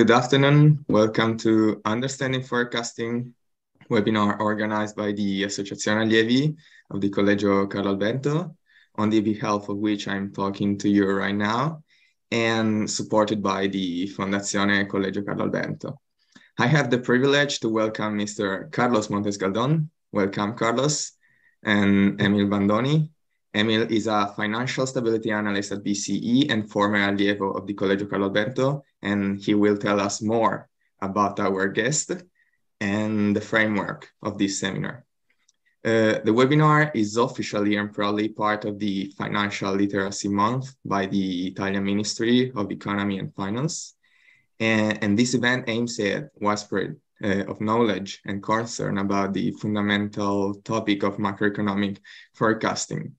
Good afternoon. Welcome to Understanding Forecasting webinar organized by the Associazione Allievi of the Collegio Carlo Alberto, on the behalf of which I'm talking to you right now, and supported by the Fondazione Collegio Carlo Alberto. I have the privilege to welcome Mr. Carlos Montescaldon. Welcome, Carlos, and Emil Bandoni. Emil is a financial stability analyst at BCE and former allievo of the Collegio Carlo Alberto, and he will tell us more about our guest and the framework of this seminar. The webinar is officially and proudly part of the Financial Literacy Month by the Italian Ministry of Economy and Finance. And this event aims at widespread of knowledge and concern about the fundamental topic of macroeconomic forecasting.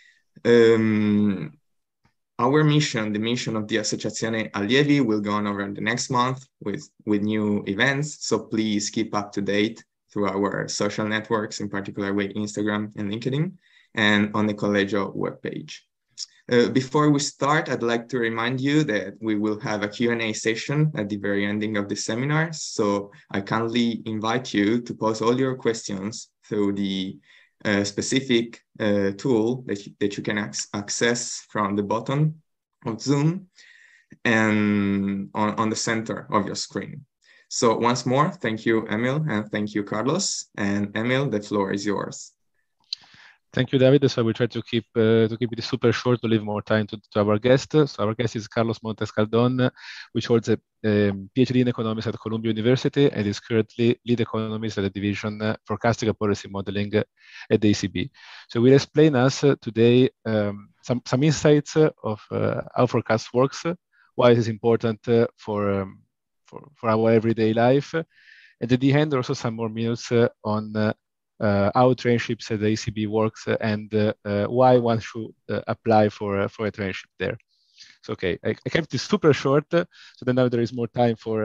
Our mission, the mission of the Associazione Allievi, will go on over the next month with new events. So please keep up to date through our social networks, in particular with Instagram and LinkedIn, and on the Collegio webpage. Before we start, I'd like to remind you that we will have a Q&A session at the very ending of the seminar. So I kindly invite you to pose all your questions through the specific tool that you can access from the bottom of Zoom and on the center of your screen. So once more, thank you, Emil, and thank you, Carlos. And Emil, the floor is yours. Thank you, David. So we try to keep it super short to leave more time to our guest. So our guest is Carlos Montescaldon, which holds a PhD in economics at Columbia University and is currently lead economist at the division forecasting and policy modeling at the ECB. So we'll explain us today some insights of how forecast works, why it is important for our everyday life, and at the end also some more minutes on how traineeships at the ECB works and why one should apply for a traineeship there. So, okay, I kept this super short, so then now there is more time for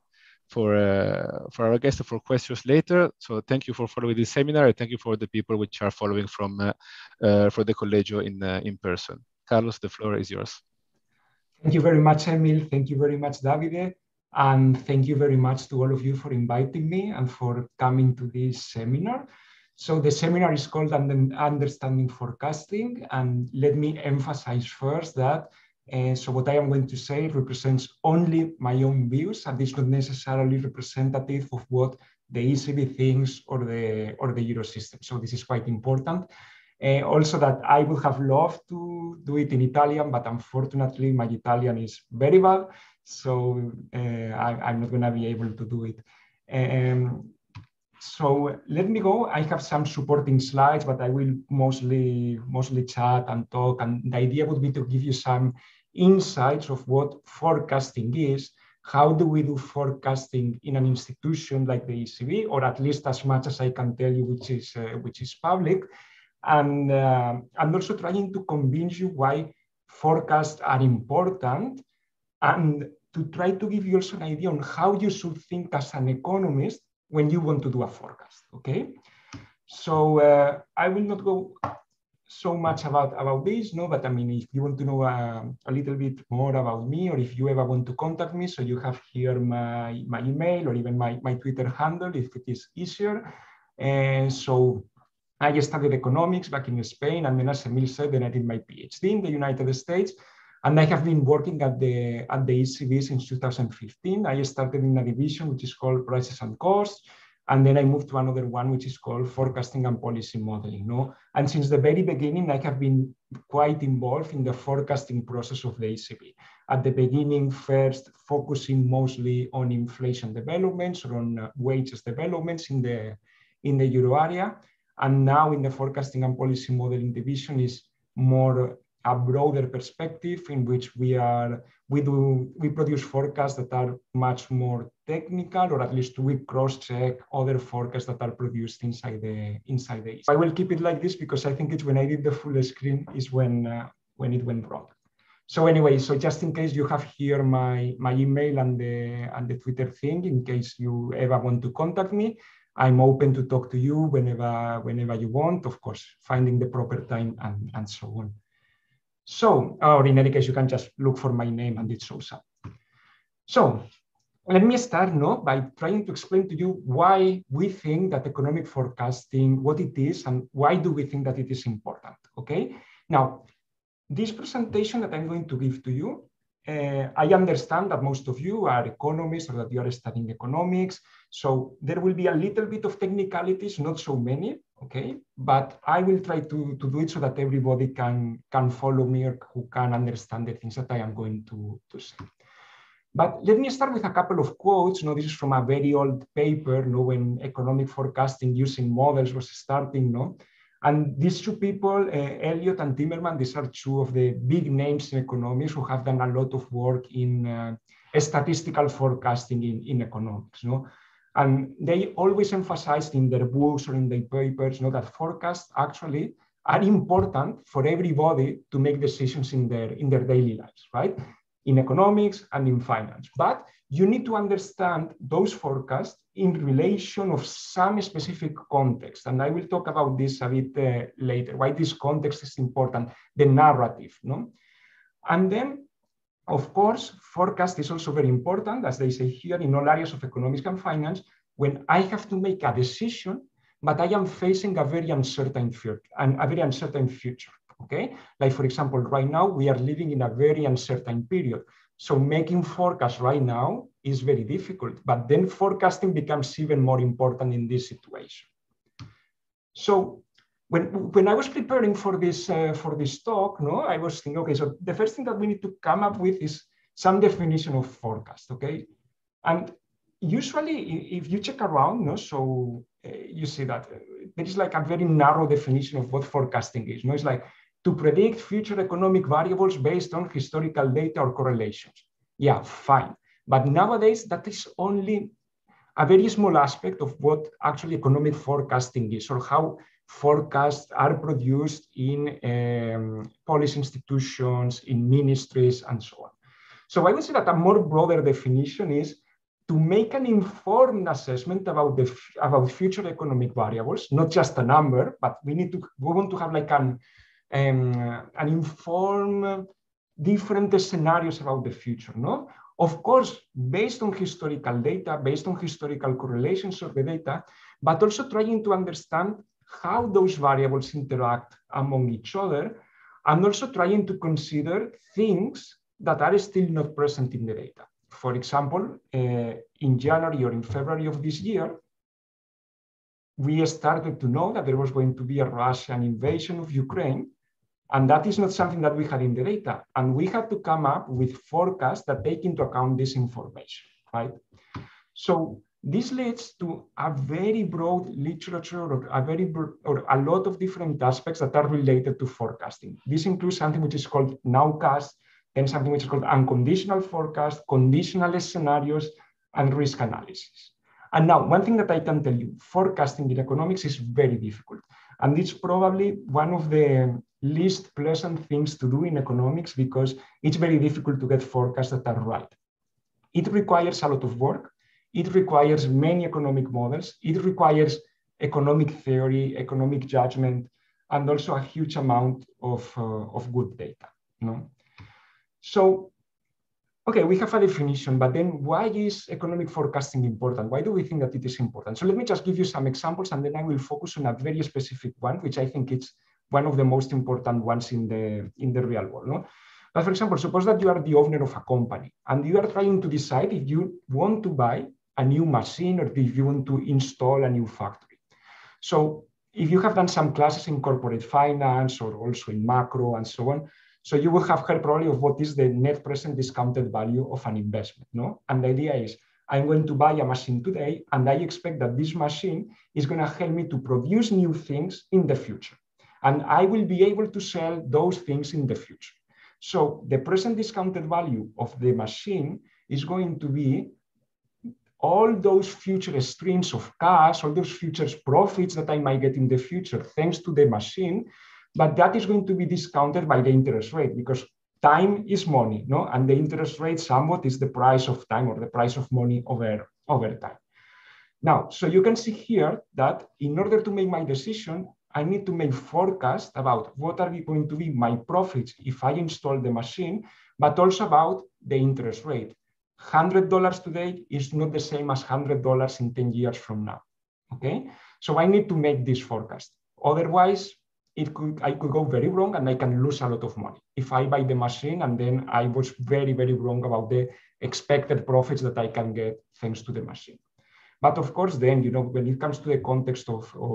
our guests for questions later. So thank you for following this seminar, and thank you for the people which are following from for the Collegio in person. Carlos, the floor is yours. Thank you very much, Emil. Thank you very much, Davide. And thank you very much to all of you for inviting me and for coming to this seminar. So the seminar is called Understanding Forecasting, and let me emphasize first that so what I am going to say represents only my own views and is not necessarily representative of what the ECB thinks or the Eurosystem. So this is quite important. Also that I would have loved to do it in Italian, but unfortunately my Italian is very bad, so I'm not going to be able to do it. So let me go. I have some supporting slides, but I will mostly chat and talk. And the idea would be to give you some insights of what forecasting is. How do we do forecasting in an institution like the ECB, or at least as much as I can tell you, which is public, and also trying to convince you why forecasts are important, and to try to give you also an idea on how you should think as an economist when you want to do a forecast, okay? So I will not go so much about this, no, but I mean, if you want to know a little bit more about me, or if you ever want to contact me, so you have here my email or even my Twitter handle, if it is easier. And so I studied economics back in Spain, and then as Emil said, then I did my PhD in the United States. And I have been working at the ECB since 2015. I started in a division which is called Prices and Costs, and then I moved to another one which is called Forecasting and Policy Modeling. No? And since the very beginning, I have been quite involved in the forecasting process of the ECB. At the beginning, first focusing mostly on inflation developments or on wages developments in the euro area, and now in the Forecasting and Policy Modeling division is more a broader perspective in which we produce forecasts that are much more technical, or at least we cross-check other forecasts that are produced inside the ECB. I will keep it like this because I think it's when I did the full screen is when it went wrong. So anyway, so just in case you have here my email and the Twitter thing, in case you ever want to contact me, I'm open to talk to you whenever you want, of course, finding the proper time and so on. So, or in any case, you can just look for my name and it shows up. So, let me start by trying to explain to you why we think that economic forecasting, what it is, and why do we think that it is important, okay? Now, this presentation that I'm going to give to you, I understand that most of you are economists or that you are studying economics, so there will be a little bit of technicalities, not so many, okay? But I will try to do it so that everybody can follow me or who can understand the things that I am going to say. But let me start with a couple of quotes. This is from a very old paper, when economic forecasting using models was starting. And these two people, Elliott and Timmerman, these are two of the big names in economics who have done a lot of work in statistical forecasting in economics. And they always emphasized in their books or in their papers that forecasts actually are important for everybody to make decisions in their daily lives, right? In economics and in finance. But you need to understand those forecasts in relation of some specific context. And I will talk about this a bit later, why this context is important, the narrative. And then, of course, forecast is also very important, as they say here, in all areas of economics and finance, when I have to make a decision, but I am facing a very uncertain future. Okay, like for example, right now we are living in a very uncertain period. So making forecasts right now is very difficult, but then forecasting becomes even more important in this situation. So when I was preparing for this talk, I was thinking, okay, so the first thing that we need to come up with is some definition of forecast, okay? And usually, if you check around, you see that there is like a very narrow definition of what forecasting is. It's like to predict future economic variables based on historical data or correlations. Yeah, fine. But nowadays, that is only a very small aspect of what actually economic forecasting is, or how forecasts are produced in policy institutions, in ministries, and so on. So I would say that a more broader definition is to make an informed assessment about future economic variables, not just a number, but we want to have like an informed different scenarios about the future. Of course, based on historical data, based on historical correlations of the data, but also trying to understand how those variables interact among each other, and also trying to consider things that are still not present in the data. For example, in January or in February of this year, we started to know that there was going to be a Russian invasion of Ukraine, and that is not something that we had in the data. And we had to come up with forecasts that take into account this information, right? So this leads to a very broad literature or a lot of different aspects that are related to forecasting. This includes something which is called nowcast, then something which is called unconditional forecast, conditional scenarios, and risk analysis. And now, one thing that I can tell you, forecasting in economics is very difficult. And it's probably one of the least pleasant things to do in economics because it's very difficult to get forecasts that are right. It requires a lot of work. It requires many economic models. It requires economic theory, economic judgment, and also a huge amount of good data. So, okay, we have a definition, but then why is economic forecasting important? Why do we think that it is important? So let me just give you some examples, and then I will focus on a very specific one, which I think it's one of the most important ones in the real world. But for example, suppose that you are the owner of a company, and you are trying to decide if you want to buy a new machine or if you want to install a new factory. So if you have done some classes in corporate finance or also in macro and so on, so you will have heard probably of what is the net present discounted value of an investment. And the idea is, I'm going to buy a machine today, and I expect that this machine is going to help me to produce new things in the future. And I will be able to sell those things in the future. So the present discounted value of the machine is going to be all those future streams of cash, all those future profits that I might get in the future thanks to the machine. But that is going to be discounted by the interest rate because time is money, and the interest rate somewhat is the price of time or the price of money over time. Now, so you can see here that in order to make my decision, I need to make forecasts about what are going to be my profits if I install the machine, but also about the interest rate. $100 today is not the same as $100 in 10 years from now. Okay, so I need to make this forecast. Otherwise, I could go very wrong and I can lose a lot of money if I buy the machine and then I was very, very wrong about the expected profits that I can get thanks to the machine. But of course, then, you know, when it comes to the context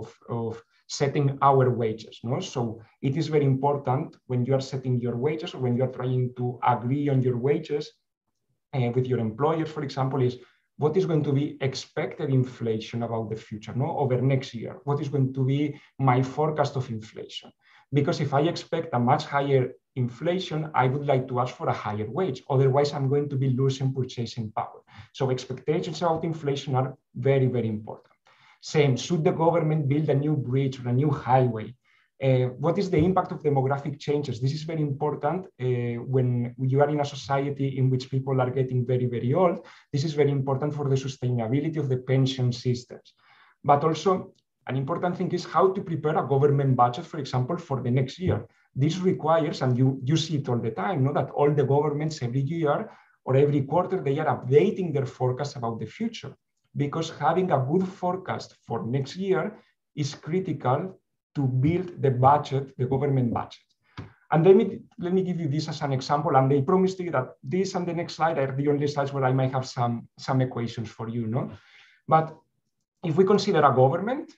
of setting our wages, no? So it is very important when you are setting your wages or when you are trying to agree on your wages with your employers, for example, is what is going to be expected inflation about the future, no? Over next year? What is going to be my forecast of inflation? Because if I expect a much higher inflation, I would like to ask for a higher wage. Otherwise, I'm going to be losing purchasing power. So expectations about inflation are very, very important. Same, should the government build a new bridge or a new highway? What is the impact of demographic changes? This is very important when you are in a society in which people are getting very, very old. This is very important for the sustainability of the pension systems. But also, an important thing is how to prepare a government budget, for example, for the next year. This requires, and you see it all the time, no? That all the governments every year or every quarter, they are updating their forecast about the future. Because having a good forecast for next year is critical to build the budget, the government budget. And let me give you this as an example. And I promised you that this and the next slide are the only slides where I might have some equations for you, no? But if we consider a government,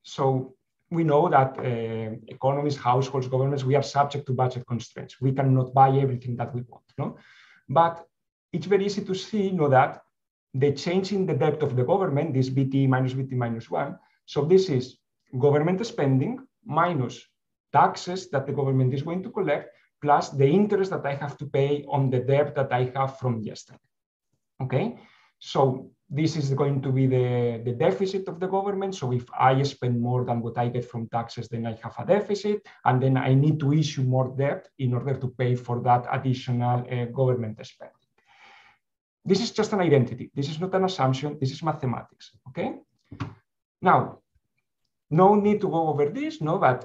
so we know that economies, households, governments, we are subject to budget constraints. We cannot buy everything that we want, no? But it's very easy to see, you know, that the change in the debt of the government, this BT minus 1, so this is government spending minus taxes that the government is going to collect, plus the interest that I have to pay on the debt that I have from yesterday. Okay, so this is going to be the deficit of the government. So if I spend more than what I get from taxes, then I have a deficit, and then I need to issue more debt in order to pay for that additional government spending. This is just an identity. This is not an assumption. This is mathematics. Okay, now, no need to go over this, no, but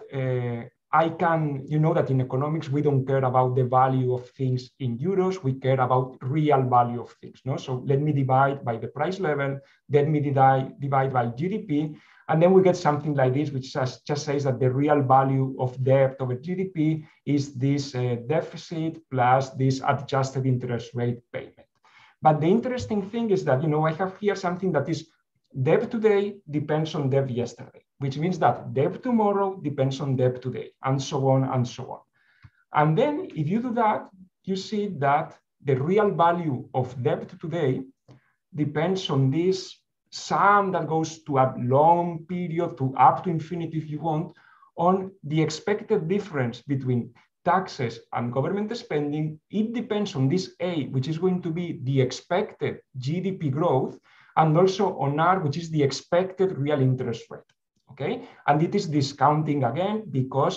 I can, you know that in economics, we don't care about the value of things in euros, we care about real value of things, no? So let me divide by the price level, let me divide by GDP, and then we get something like this, which just says that the real value of debt over GDP is this deficit plus this adjusted interest rate payment. But the interesting thing is that, you know, I have here something that is debt today depends on debt yesterday, which means that debt tomorrow depends on debt today, and so on and so on. And then if you do that, you see that the real value of debt today depends on this sum that goes to a long period, to up to infinity if you want, on the expected difference between taxes and government spending. It depends on this A, which is going to be the expected GDP growth, and also on R, which is the expected real interest rate, okay? And it is discounting again, because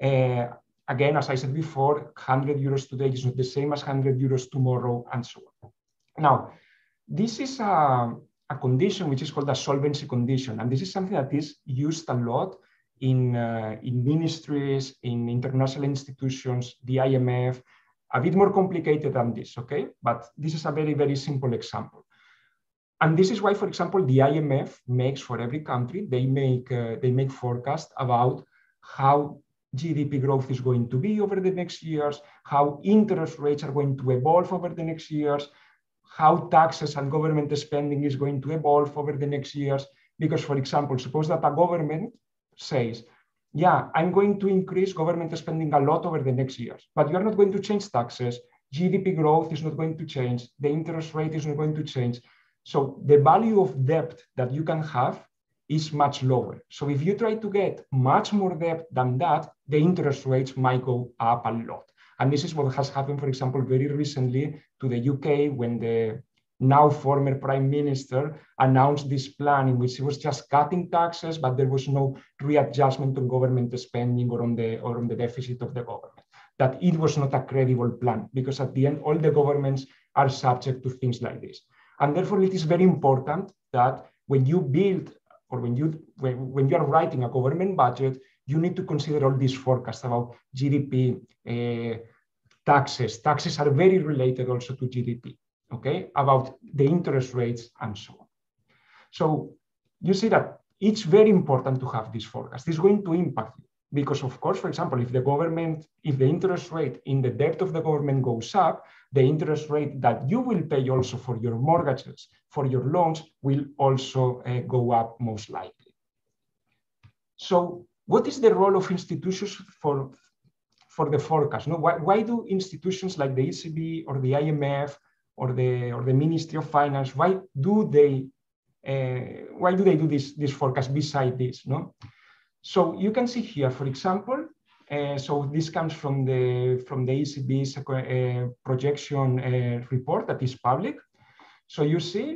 again, as I said before, 100 euros today is not the same as 100 euros tomorrow, and so on. Now, this is a condition which is called a solvency condition, and this is something that is used a lot in ministries, in international institutions, the IMF, a bit more complicated than this, okay? But this is a very, very simple example. And this is why, for example, the IMF makes for every country, they make forecasts about how GDP growth is going to be over the next years, how interest rates are going to evolve over the next years, how taxes and government spending is going to evolve over the next years. Because, for example, suppose that a government says, yeah, I'm going to increase government spending a lot over the next years, but you're not going to change taxes, GDP growth is not going to change, the interest rate is not going to change. So the value of debt that you can have is much lower. So if you try to get much more debt than that, the interest rates might go up a lot. And this is what has happened, for example, very recently to the UK, when the now former prime minister announced this plan in which he was just cutting taxes, but there was no readjustment on government spending or on the deficit of the government. That it was not a credible plan, because at the end, all the governments are subject to things like this. And therefore, it is very important that when you build, or when you are writing a government budget, you need to consider all these forecasts about GDP, taxes. Taxes are very related also to GDP. okay, about the interest rates and so on. So you see that it's very important to have this forecast. It's going to impact you because, of course, for example, if the interest rate in the debt of the government goes up, the interest rate that you will pay also for your mortgages, for your loans, will also go up most likely. So what is the role of institutions for the forecast? No, why do institutions like the ECB or the IMF or the Ministry of Finance, why do they do this forecast beside this? No, so you can see here, for example, so this comes from the ECB's projection report that is public. So you see,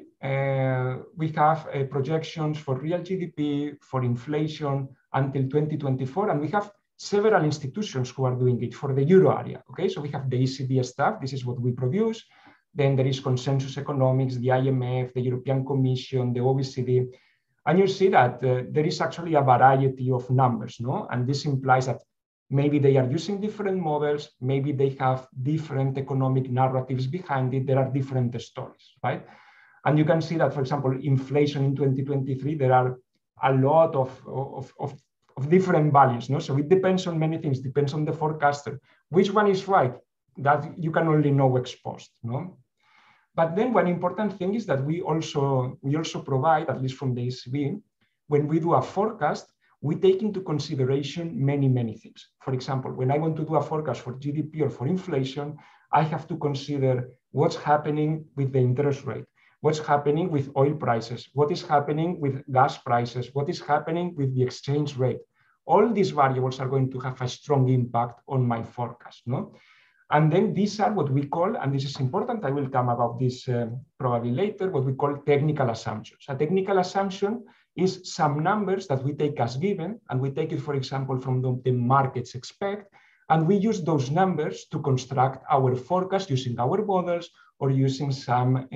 we have projections for real GDP, for inflation until 2024, and we have several institutions who are doing it for the euro area. Okay, so we have the ECB staff. This is what we produce. Then there is Consensus Economics, the IMF, the European Commission, the OECD. And you see that there is actually a variety of numbers, no? And this implies that maybe they are using different models, maybe they have different economic narratives behind it, there are different stories, right? And you can see that, for example, inflation in 2023, there are a lot of different values, no? So it depends on many things, depends on the forecaster. Which one is right? That you can only know ex post, no? But then one important thing is that we also provide, at least from the ECB, when we do a forecast, we take into consideration many things. For example, when I want to do a forecast for GDP or for inflation, I have to consider what's happening with the interest rate, what's happening with oil prices, what is happening with gas prices, what is happening with the exchange rate. All these variables are going to have a strong impact on my forecast, no? And then these are what we call, and this is important, I will come about this probably later, what we call technical assumptions. A technical assumption is some numbers that we take as given, and we take it, for example, from the markets expect, and we use those numbers to construct our forecast using our models or using some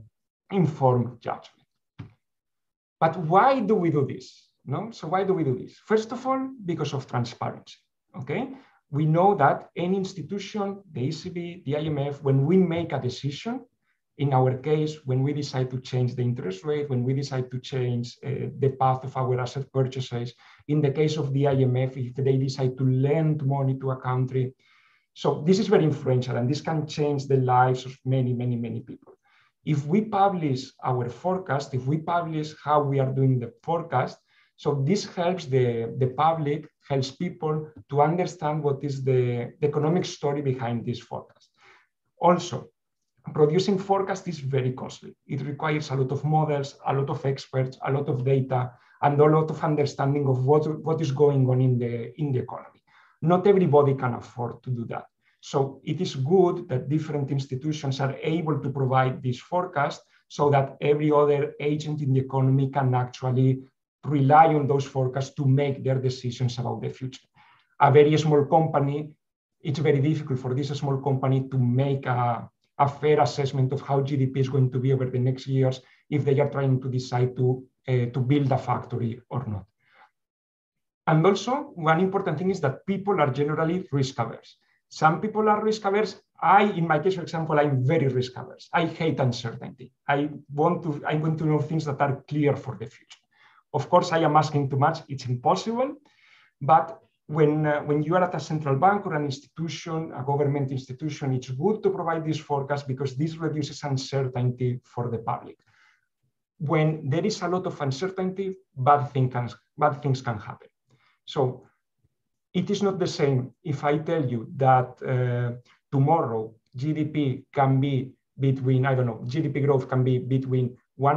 informed judgment. But why do we do this? No? So why do we do this? First of all, because of transparency, okay? We know that any institution, the ECB, the IMF, when we make a decision, in our case, when we decide to change the interest rate, when we decide to change the path of our asset purchases, in the case of the IMF, if they decide to lend money to a country. So this is very influential, and this can change the lives of many people. If we publish our forecast, if we publish how we are doing the forecast, so this helps the public, helps people to understand what is the economic story behind this forecast. Also, producing forecast is very costly. It requires a lot of models, a lot of experts, a lot of data, and a lot of understanding of what is going on in the economy. Not everybody can afford to do that. So it is good that different institutions are able to provide this forecast so that every other agent in the economy can actually rely on those forecasts to make their decisions about the future. A very small company, it's very difficult for this small company to make a fair assessment of how GDP is going to be over the next years if they are trying to decide to build a factory or not. And also, one important thing is that people are generally risk averse. Some people are risk averse. In my case, for example, I'm very risk averse. I hate uncertainty. I want to know things that are clear for the future. Of course, I am asking too much. It's impossible. But when you are at a central bank or an institution, a government institution, it's good to provide this forecast because this reduces uncertainty for the public. When there is a lot of uncertainty, bad things can happen. So it is not the same if I tell you that tomorrow GDP can be between, I don't know, GDP growth can be between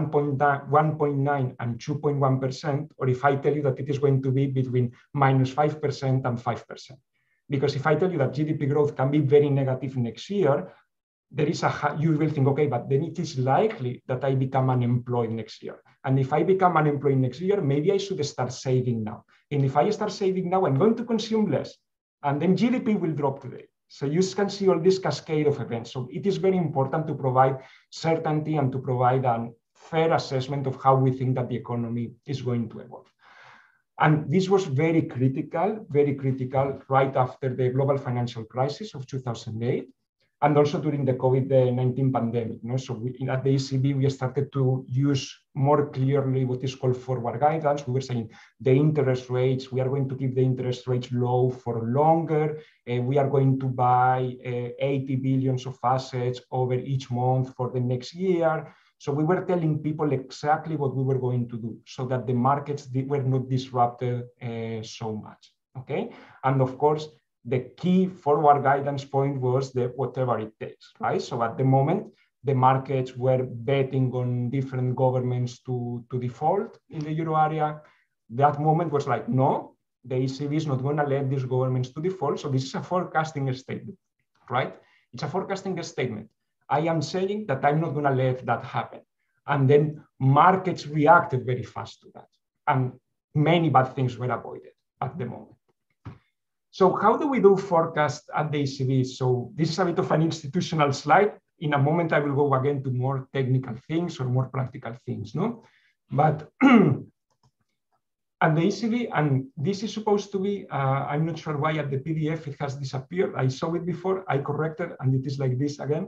1.9 and 2.1%, or if I tell you that it is going to be between -5% and 5%. Because if I tell you that GDP growth can be very negative next year, you will think, okay, but then it is likely that I become unemployed next year. And if I become unemployed next year, maybe I should start saving now. And if I start saving now, I'm going to consume less. And then GDP will drop today. So you can see all this cascade of events. So it is very important to provide certainty and to provide a fair assessment of how we think that the economy is going to evolve. And this was very critical right after the global financial crisis of 2008. and also during the COVID-19 pandemic. So at the ECB, we started to use more clearly what is called forward guidance. We were saying the interest rates, we are going to keep the interest rates low for longer. We are going to buy 80 billions of assets over each month for the next year. So we were telling people exactly what we were going to do so that the markets were not disrupted so much, okay? And of course, the key forward guidance point was the whatever it takes, right? So at the moment, the markets were betting on different governments to default in the euro area. That moment was like, no, the ECB is not going to let these governments to default. So this is a forecasting statement, right? It's a forecasting statement. I am saying that I'm not going to let that happen. And then markets reacted very fast to that. And many bad things were avoided at the moment. So how do we do forecast at the ECB? So this is a bit of an institutional slide. In a moment, I will go again to more technical things or more practical things, no? But at the ECB, and this is supposed to be, I'm not sure why at the PDF it has disappeared. I saw it before, I corrected, and it is like this again.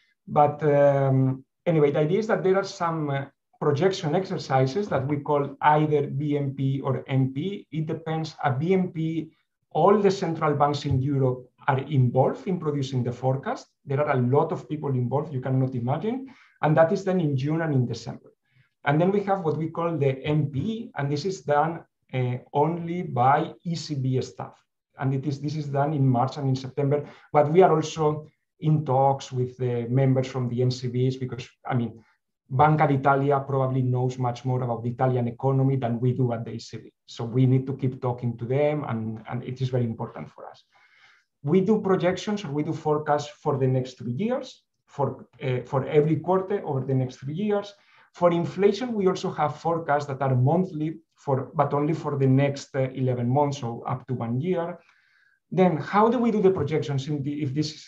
But anyway, the idea is that there are some projection exercises that we call either BMP or MP. It depends. A BMP, all the central banks in Europe are involved in producing the forecast. There are a lot of people involved, you cannot imagine. And that is done in June and in December. And then we have what we call the MP, and this is done only by ECB staff. And this is done in March and in September. But we are also in talks with the members from the NCBs because, I mean, Banca d'Italia probably knows much more about the Italian economy than we do at the ECB. So we need to keep talking to them, and it is very important for us. We do projections or we do forecasts for the next 3 years, for every quarter over the next 3 years. For inflation, we also have forecasts that are monthly, but only for the next 11 months, so up to 1 year. Then how do we do the projections if this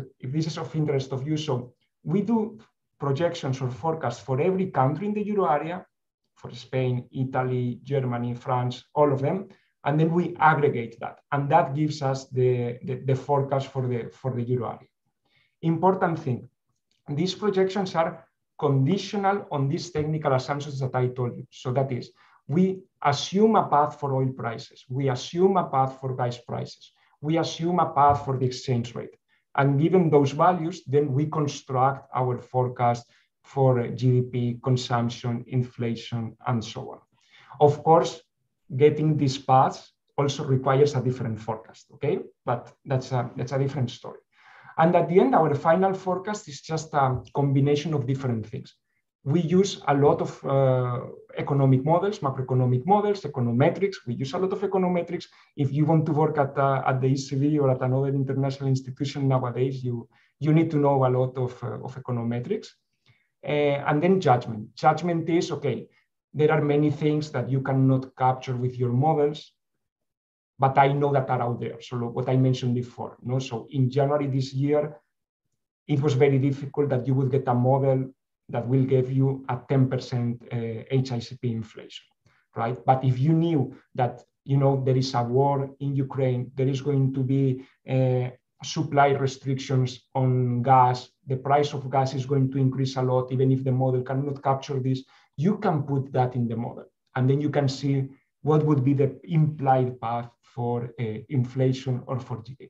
is of interest of you? So we do projections or forecasts for every country in the euro area, for Spain, Italy, Germany, France, all of them. And then we aggregate that. And that gives us the forecast for the euro area. Important thing, these projections are conditional on these technical assumptions that I told you. So that is, we assume a path for oil prices. We assume a path for gas prices. We assume a path for the exchange rate. And given those values, then we construct our forecast for GDP, consumption, inflation, and so on. Of course, getting these paths also requires a different forecast, okay? But that's a different story. And at the end, our final forecast is just a combination of different things. We use a lot of economic models, macroeconomic models, econometrics. We use a lot of econometrics. If you want to work at the ECB or at another international institution nowadays, you need to know a lot of econometrics. And then judgment. Judgment is, okay, there are many things that you cannot capture with your models, but I know that are out there. So what I mentioned before. No? So in January this year, it was very difficult that you would get a model that will give you a 10% HICP inflation, right? But if you knew that, there is a war in Ukraine, there is going to be supply restrictions on gas, the price of gas is going to increase a lot, even if the model cannot capture this, you can put that in the model. And then you can see what would be the implied path for inflation or for GDP.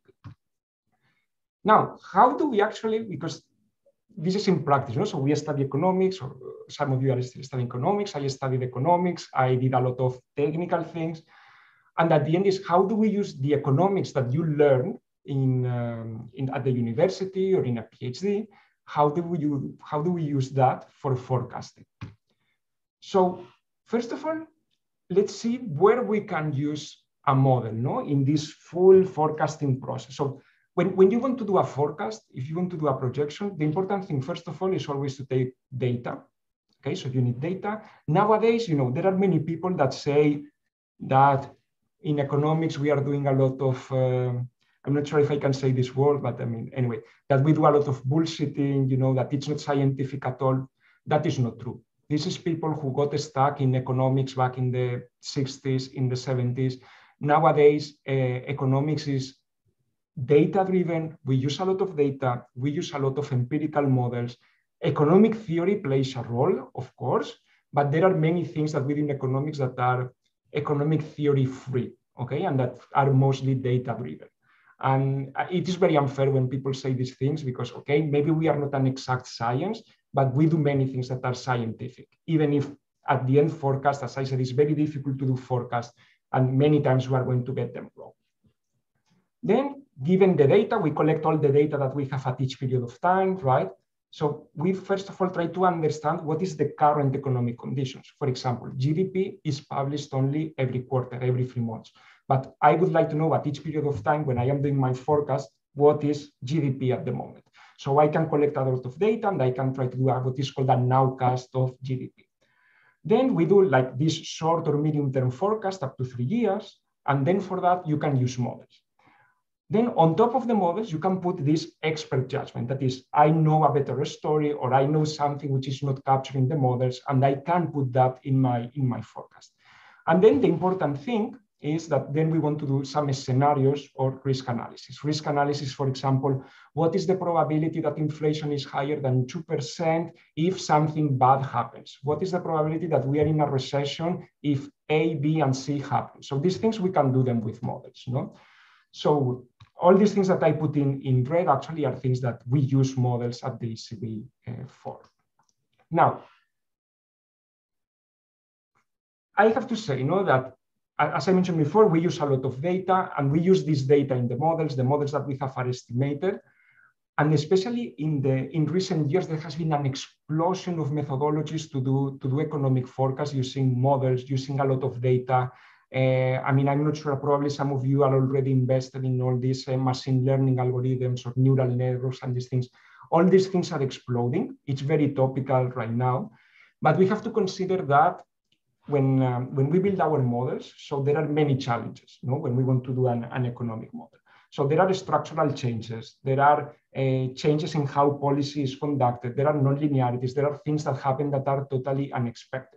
Now, how do we actually, because this is in practice, so we study economics, or some of you are still studying economics, I studied economics, I did a lot of technical things. And at the end is, how do we use the economics that you learn at the university or in a PhD? How do we use that for forecasting? So first of all, let's see where we can use a model, in this full forecasting process. So when you want to do a forecast, if you want to do a projection, the important thing, first of all, is always to take data. Okay, so you need data. Nowadays, there are many people that say that in economics, we are doing a lot of, I'm not sure if I can say this word, but I mean, anyway, that we do a lot of bullshitting, that it's not scientific at all. That is not true. This is people who got stuck in economics back in the 60s, in the 70s. Nowadays, economics is data-driven, we use a lot of data, we use a lot of empirical models. Economic theory plays a role, of course, but there are many things that within economics that are economic theory free, okay, and that are mostly data-driven. And it is very unfair when people say these things because, okay, maybe we are not an exact science, but we do many things that are scientific, even if at the end forecast, as I said, it's very difficult to do forecast, and many times we are going to get them wrong. Then, given the data, we collect all the data that we have at each period of time, right? So we first of all try to understand what is the current economic conditions. For example, GDP is published only every quarter, every 3 months. But I would like to know at each period of time when I am doing my forecast, what is GDP at the moment. So I can collect a lot of data and I can try to do what is called a nowcast of GDP. Then we do like this short or medium term forecast up to 3 years. And then for that, you can use models. Then on top of the models, you can put this expert judgment. That is, I know a better story or I know something which is not capturing the models, and I can put that in my forecast. And then the important thing is that then we want to do some scenarios or risk analysis. Risk analysis, for example, what is the probability that inflation is higher than 2% if something bad happens? What is the probability that we are in a recession if A, B, and C happen? So these things, we can do them with models, no? So all these things that I put in red actually are things that we use models at the ECB for. Now, I have to say, that as I mentioned before, we use a lot of data, and we use this data in the models that we have are estimated. And especially in recent years, there has been an explosion of methodologies to do economic forecasts using models, using a lot of data. I mean, I'm not sure, probably some of you are already invested in all these machine learning algorithms or neural networks and these things. All these things are exploding. It's very topical right now. But we have to consider that when we build our models, so there are many challenges, when we want to do an economic model. So there are structural changes. There are changes in how policy is conducted. There are non-linearities. There are things that happen that are totally unexpected.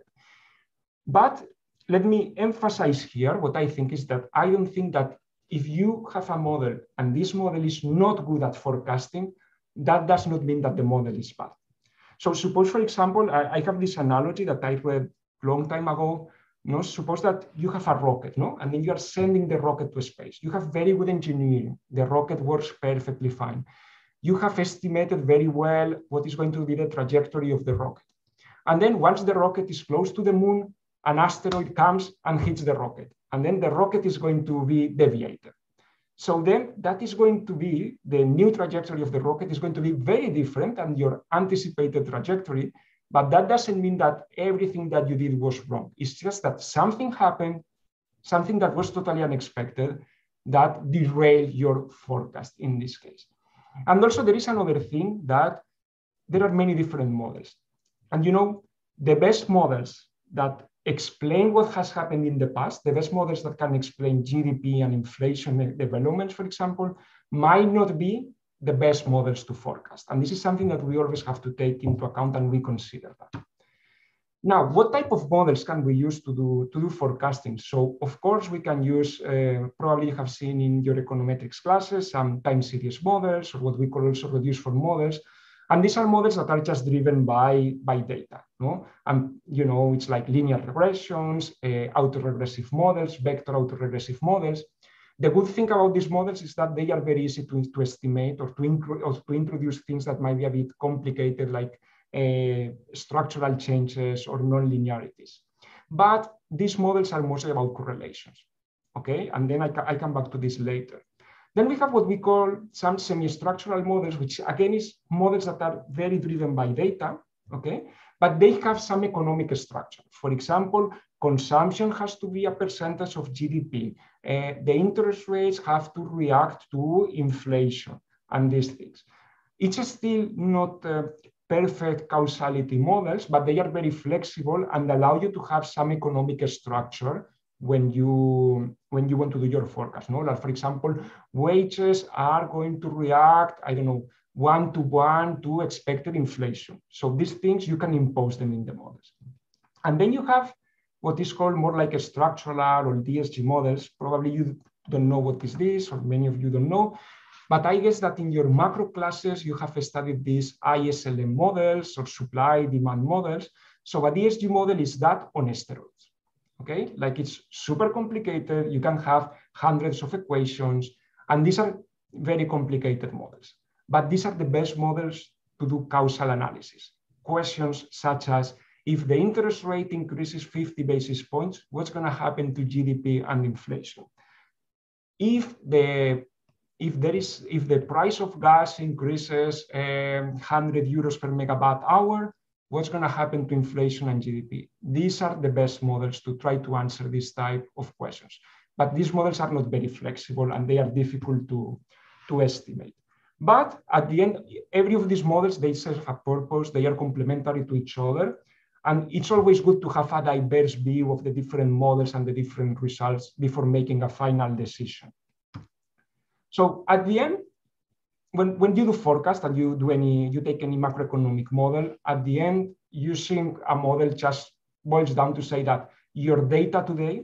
But let me emphasize here what I think is that I don't think that if you have a model and this model is not good at forecasting, that does not mean that the model is bad. So suppose, for example, I have this analogy that I read a long time ago. Suppose that you have a rocket, and then you are sending the rocket to space. You have very good engineering. The rocket works perfectly fine. You have estimated very well what is going to be the trajectory of the rocket. And then once the rocket is close to the moon, an asteroid comes and hits the rocket. And then the rocket is going to be deviated. So then that is going to be, the new trajectory of the rocket is going to be very different than your anticipated trajectory. But that doesn't mean that everything that you did was wrong. It's just that something happened, something that was totally unexpected, that derailed your forecast in this case. And also there is another thing, that there are many different models. And the best models that explain what has happened in the past, the best models that can explain GDP and inflation developments, for example, might not be the best models to forecast. And this is something that we always have to take into account, and we consider that. Now, what type of models can we use to do forecasting? So, of course, we can use, probably you have seen in your econometrics classes, some time series models, or what we call also reduced form models. And these are models that are just driven by data. And, it's like linear regressions, autoregressive models, vector autoregressive models. The good thing about these models is that they are very easy to estimate or to introduce things that might be a bit complicated, like structural changes or non-linearities. But these models are mostly about correlations, okay? And then I come back to this later. Then we have what we call some semi-structural models, which again is models that are very driven by data, okay? But they have some economic structure. For example, consumption has to be a percentage of GDP. The interest rates have to react to inflation and these things. It's still not perfect causality models, but they are very flexible and allow you to have some economic structure when you want to do your forecast. Like, for example, wages are going to react, 1-to-1 to expected inflation. So these things, you can impose them in the models. And then you have what is called more like a structural or DSG models. Probably you don't know what is this, or many of you don't know. But I guess that in your macro classes, you have studied these ISLM models or supply demand models. So a DSG model is that on steroids, okay? Like it's super complicated. You can have hundreds of equations, and these are very complicated models. But these are the best models to do causal analysis. Questions such as, if the interest rate increases 50 basis points, what's going to happen to GDP and inflation? If the price of gas increases 100 euros per megawatt hour, what's going to happen to inflation and GDP? These are the best models to try to answer this type of questions. But these models are not very flexible and they are difficult to estimate. But at the end, every of these models, they serve a purpose, they are complementary to each other. And it's always good to have a diverse view of the different models and the different results before making a final decision. So at the end, when you do forecast and you take any macroeconomic model, at the end, using a model just boils down to say that your data today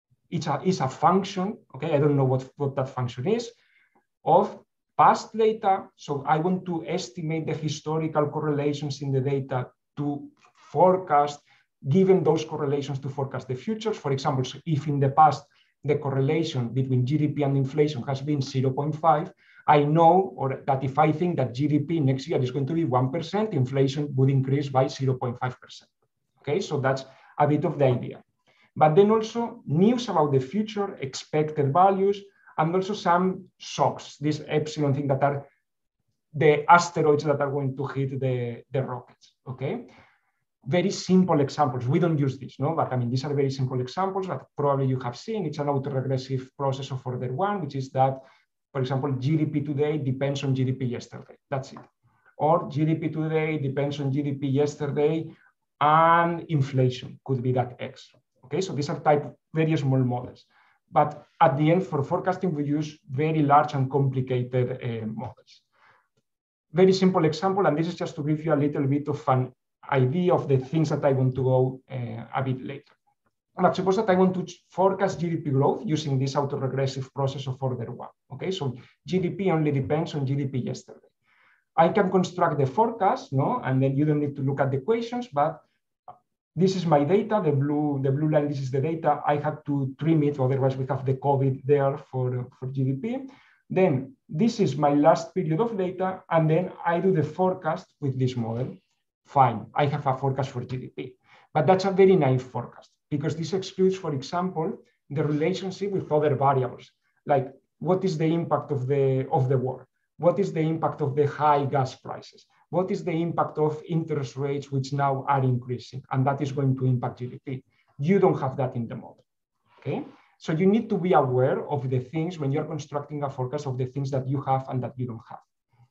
is a function, okay? I don't know what that function is, of past data. So I want to estimate the historical correlations in the data to forecast, given those correlations to forecast the futures. For example, so if in the past the correlation between GDP and inflation has been 0.5, I know that if I think that GDP next year is going to be 1%, inflation would increase by 0.5%. Okay, so that's a bit of the idea. But then also news about the future, expected values, and also some shocks, this epsilon thing that are the asteroids that are going to hit the rockets, okay? Very simple examples. We don't use this, no? But I mean, these are very simple examples that probably you have seen. It's an autoregressive process of order one, which is that, for example, GDP today depends on GDP yesterday. That's it. Or GDP today depends on GDP yesterday, and inflation could be that X. Okay, so these are very small models. But at the end, for forecasting, we use very large and complicated models. Very simple example, and this is just to give you a little bit of an idea of the things that I want to go a bit later. But suppose that I want to forecast GDP growth using this autoregressive process of order one. Okay, so GDP only depends on GDP yesterday. I can construct the forecast, no, and then you don't need to look at the equations, but this is my data, the blue line, this is the data. I have to trim it, otherwise we have the COVID there for GDP. Then this is my last period of data, and then I do the forecast with this model. Fine, I have a forecast for GDP. But that's a very naive forecast, because this excludes, for example, the relationship with other variables, like what is the impact of the war? What is the impact of the high gas prices? What is the impact of interest rates, which now are increasing? And that is going to impact GDP. You don't have that in the model, okay? So you need to be aware of the things when you're constructing a forecast of the things that you have and that you don't have.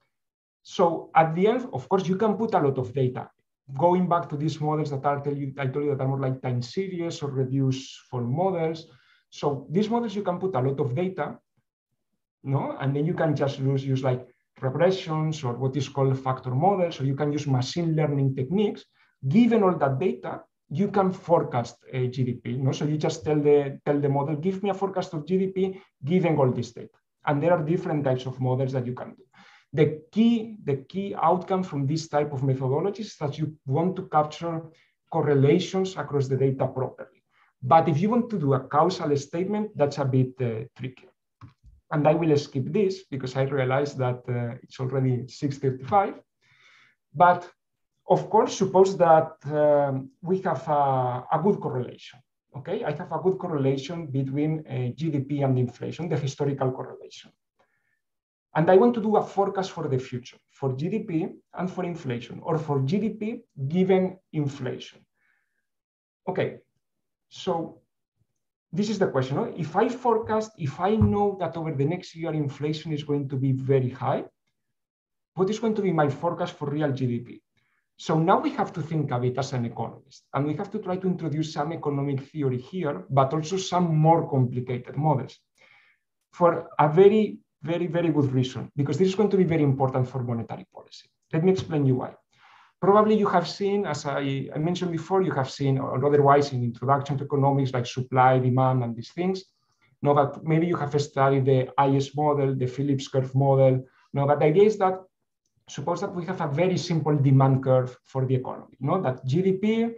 So at the end, of course, you can put a lot of data. Going back to these models that I told you that are more like time series or reduced form models. So these models, you can put a lot of data, no? And then you can just use like regressions or what is called factor models, or you can use machine learning techniques. Given all that data, you can forecast a GDP. No? So you just tell the model, give me a forecast of GDP given all this data. And there are different types of models that you can do. The key outcome from this type of methodology is that you want to capture correlations across the data properly. But if you want to do a causal statement, that's a bit tricky. And I will skip this because I realize that it's already 6:35. But of course, suppose that we have a good correlation. Okay, I have a good correlation between GDP and inflation, the historical correlation. And I want to do a forecast for the future, for GDP and for inflation, or for GDP given inflation. Okay, so this is the question. No? If I forecast, if I know that over the next year inflation is going to be very high, what is going to be my forecast for real GDP? So now we have to think of it as an economist, and we have to try to introduce some economic theory here, but also some more complicated models for a very good reason, because this is going to be very important for monetary policy. Let me explain you why. Probably you have seen, as I mentioned before, you have seen, or otherwise in Introduction to Economics, like supply, demand, and these things, No, but maybe you have studied the IS model, the Phillips curve model. No, but the idea is that suppose that we have a very simple demand curve for the economy. No, that GDP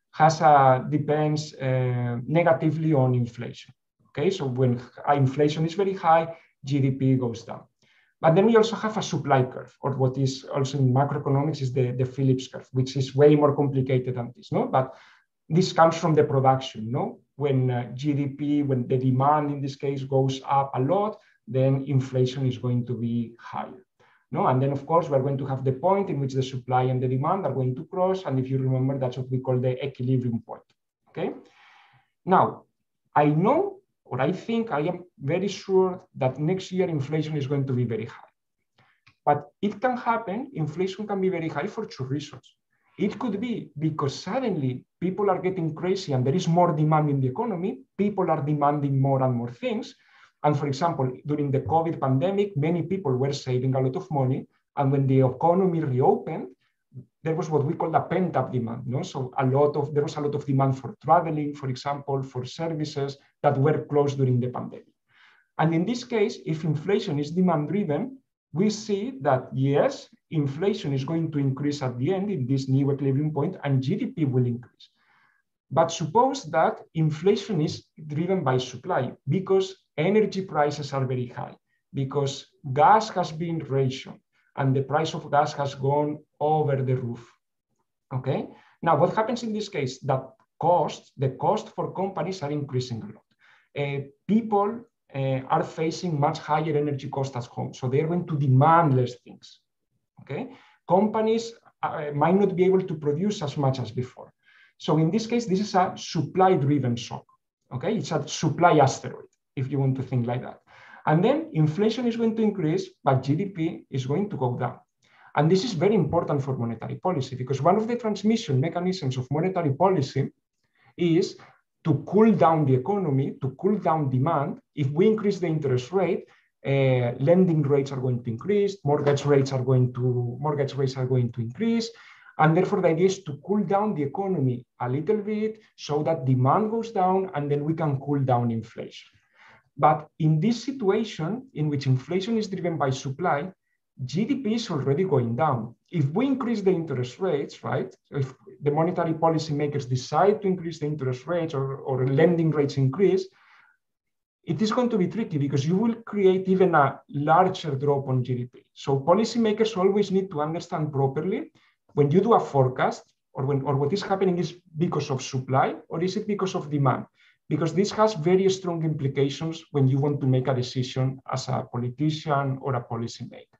depends negatively on inflation. Okay, so when inflation is very high, GDP goes down. But then we also have a supply curve, or what is also in macroeconomics is the Phillips curve, which is way more complicated than this. No, but this comes from the production. No, when GDP, when the demand in this case goes up a lot, then inflation is going to be higher. No, and then of course we're going to have the point in which the supply and the demand are going to cross, and if you remember, that's what we call the equilibrium point. Okay. Now, I know, or I think I am very sure that next year inflation is going to be very high. But it can happen, inflation can be very high for two reasons. It could be because suddenly people are getting crazy and there is more demand in the economy, people are demanding more and more things. And for example, during the COVID pandemic, many people were saving a lot of money. And when the economy reopened, there was what we call a pent-up demand. No? So there was a lot of demand for traveling, for example, for services that were closed during the pandemic. And in this case, if inflation is demand-driven, we see that yes, inflation is going to increase at the end in this new equilibrium point, and GDP will increase. But suppose that inflation is driven by supply because energy prices are very high, because gas has been rationed and the price of gas has gone over the roof. Okay. Now, what happens in this case? That the cost for companies are increasing a lot. People are facing much higher energy costs at home, so they're going to demand less things. Okay. Companies might not be able to produce as much as before. So in this case, this is a supply-driven shock. Okay, it's a supply asteroid, if you want to think like that. And then inflation is going to increase, but GDP is going to go down. And this is very important for monetary policy, because one of the transmission mechanisms of monetary policy is to cool down the economy, to cool down demand. If we increase the interest rate, lending rates are going to increase, mortgage rates are going to increase. And therefore, the idea is to cool down the economy a little bit so that demand goes down, and then we can cool down inflation. But in this situation, in which inflation is driven by supply, GDP is already going down. If we increase the interest rates, right? If the monetary policy makers decide to increase the interest rates or lending rates increase, it is going to be tricky because you will create even a larger drop on GDP. So policymakers always need to understand properly when you do a forecast, or what is happening is because of supply, or is it because of demand? Because this has very strong implications when you want to make a decision as a politician or a policymaker.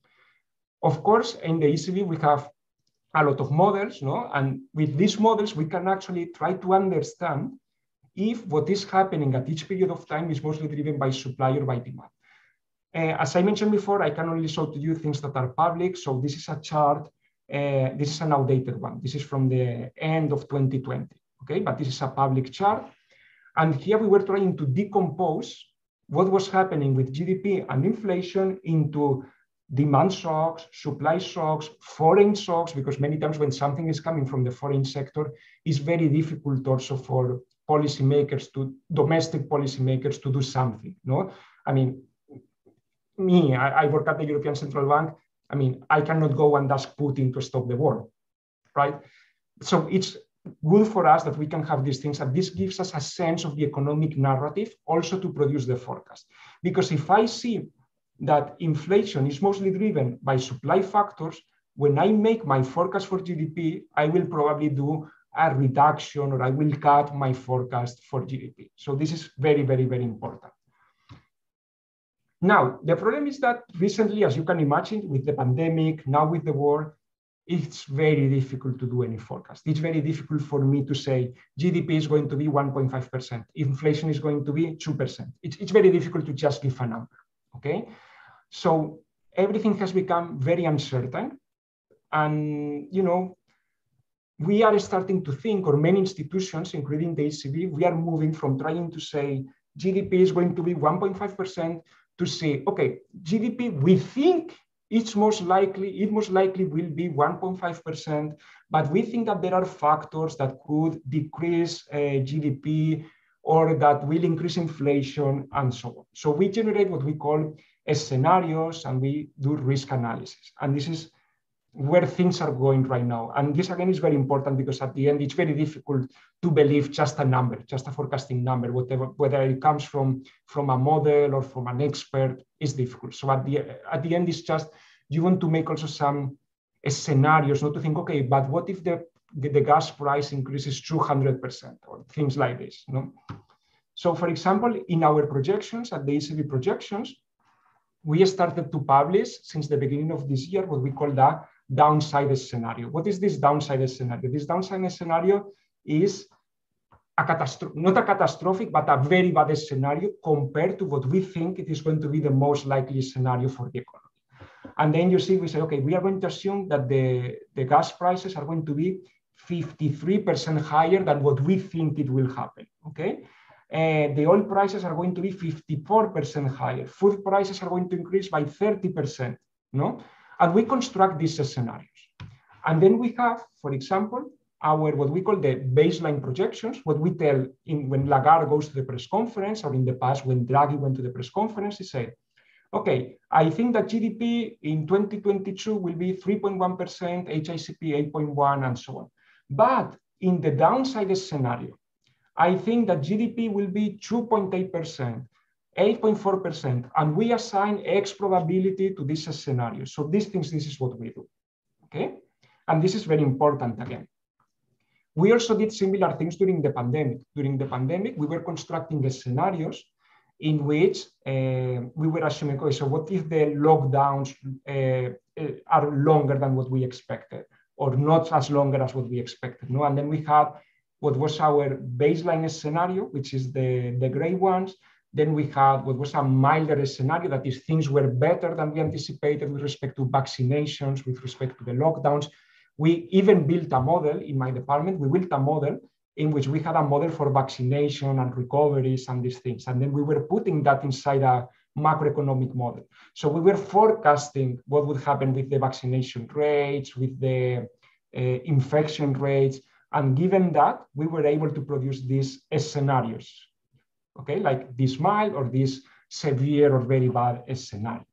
Of course, in the ECB, we have a lot of models, no? And with these models, we can actually try to understand if what is happening at each period of time is mostly driven by supply or by demand. As I mentioned before, I can only show to you things that are public. So this is a chart. This is an outdated one. This is from the end of 2020, okay? But this is a public chart. And here we were trying to decompose what was happening with GDP and inflation into demand shocks, supply shocks, foreign shocks, because many times when something is coming from the foreign sector, it's very difficult also for domestic policymakers to do something, no? I mean, I work at the European Central Bank. I mean, I cannot go and ask Putin to stop the war, right? So it's good for us that we can have these things, and this gives us a sense of the economic narrative also to produce the forecast. Because if I see that inflation is mostly driven by supply factors, when I make my forecast for GDP, I will probably do a reduction, or I will cut my forecast for GDP. So this is very, very, very important. Now, the problem is that recently, as you can imagine, with the pandemic, now with the war, it's very difficult to do any forecast. It's very difficult for me to say GDP is going to be 1.5%, inflation is going to be 2%. It's very difficult to just give a number, okay? So everything has become very uncertain. And, you know, we are starting to think, or many institutions, including the ECB, we are moving from trying to say GDP is going to be 1.5% to say, okay, GDP, we think it most likely will be 1.5%, but we think that there are factors that could decrease GDP or that will increase inflation, and so on. So we generate what we call scenarios, and we do risk analysis. And this is where things are going right now. And this, again, is very important, because at the end, it's very difficult to believe just a number, just a forecasting number, whether it comes from a model or from an expert, is difficult. So at the end, it's just, you want to make also some scenarios, not to think, okay, but what if the gas price increases 200% or things like this, no? So for example, in our projections, at the ECB projections, we started to publish since the beginning of this year what we call the downside scenario. What is this downside scenario? This downside scenario is not a catastrophic, but a very bad scenario compared to what we think it is going to be the most likely scenario for the economy. And then you see, we say, okay, we are going to assume that the gas prices are going to be 53% higher than what we think it will happen, okay? The oil prices are going to be 54% higher. Food prices are going to increase by 30%, no? And we construct these scenarios. And then we have, for example, what we call the baseline projections, what we tell when Lagarde goes to the press conference, or in the past when Draghi went to the press conference, he said, okay, I think that GDP in 2022 will be 3.1%, HICP 8.1%, and so on. But in the downside scenario, I think that GDP will be 2.8%, 8.4%, and we assign X probability to this scenario. So this is what we do, okay? And this is very important again. We also did similar things during the pandemic. During the pandemic, we were constructing the scenarios in which we were assuming, okay, so what if the lockdowns are longer than what we expected, or not as longer as what we expected, no? And then we had what was our baseline scenario, which is the gray ones. Then we had what was a milder scenario, that is, things were better than we anticipated with respect to vaccinations, with respect to the lockdowns. We even built a model in my department. We built a model in which we had a model for vaccination and recoveries and these things. And then we were putting that inside a macroeconomic model. So we were forecasting what would happen with the vaccination rates, with the infection rates. And given that, we were able to produce these scenarios, okay, like this mild or this severe or very bad scenario.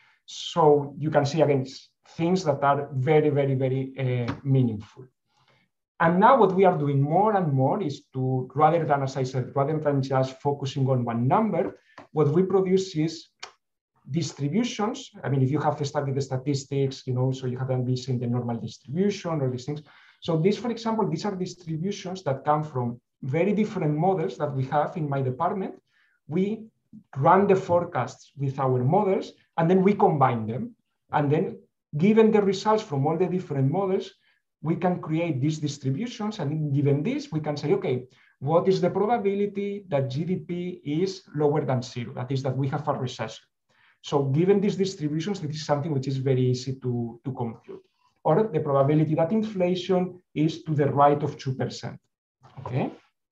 So you can see, again, things that are very, very, very meaningful. And now what we are doing more and more is to, rather than, as I said, rather than just focusing on one number, what we produce is distributions. I mean, if you have studied the statistics, you know, so you haven't been seeing the normal distribution or these things. So these, for example, these are distributions that come from very different models that we have in my department. We run the forecasts with our models, and then we combine them. And then, given the results from all the different models, we can create these distributions. And given this, we can say, okay, what is the probability that GDP is lower than zero? That is, that we have a recession. So given these distributions, this is something which is very easy to compute. Or the probability that inflation is to the right of 2%, okay?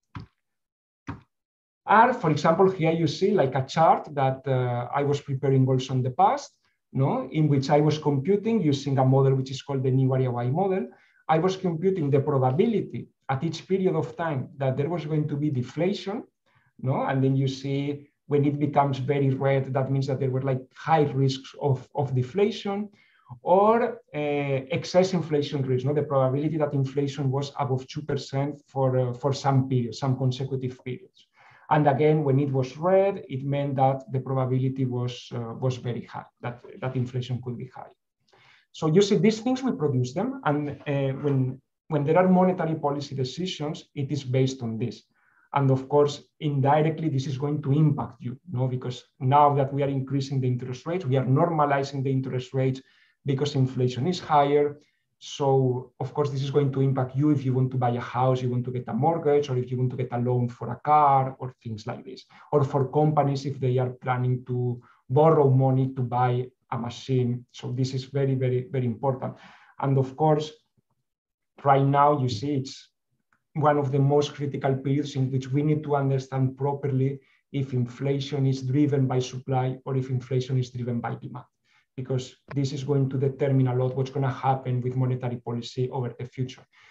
And for example, here you see like a chart that I was preparing also in the past, no, in which I was computing using a model which is called the new area Y model. I was computing the probability at each period of time that there was going to be deflation, no, and then you see when it becomes very red, that means that there were like high risks of deflation, or excess inflation risk, no, the probability that inflation was above 2% for some periods, some consecutive periods. And again, when it was red, it meant that the probability was very high, that inflation could be high. So you see, these things, we produce them. And when there are monetary policy decisions, it is based on this. And of course, indirectly, this is going to impact you, no? Because now that we are increasing the interest rates, we are normalizing the interest rates because inflation is higher. So of course, this is going to impact you if you want to buy a house, you want to get a mortgage, or if you want to get a loan for a car, or things like this. Or for companies, if they are planning to borrow money to buy a machine. So this is very, very, very important. And of course, right now, you see, it's one of the most critical periods in which we need to understand properly if inflation is driven by supply or if inflation is driven by demand, because this is going to determine a lot what's going to happen with monetary policy over the future.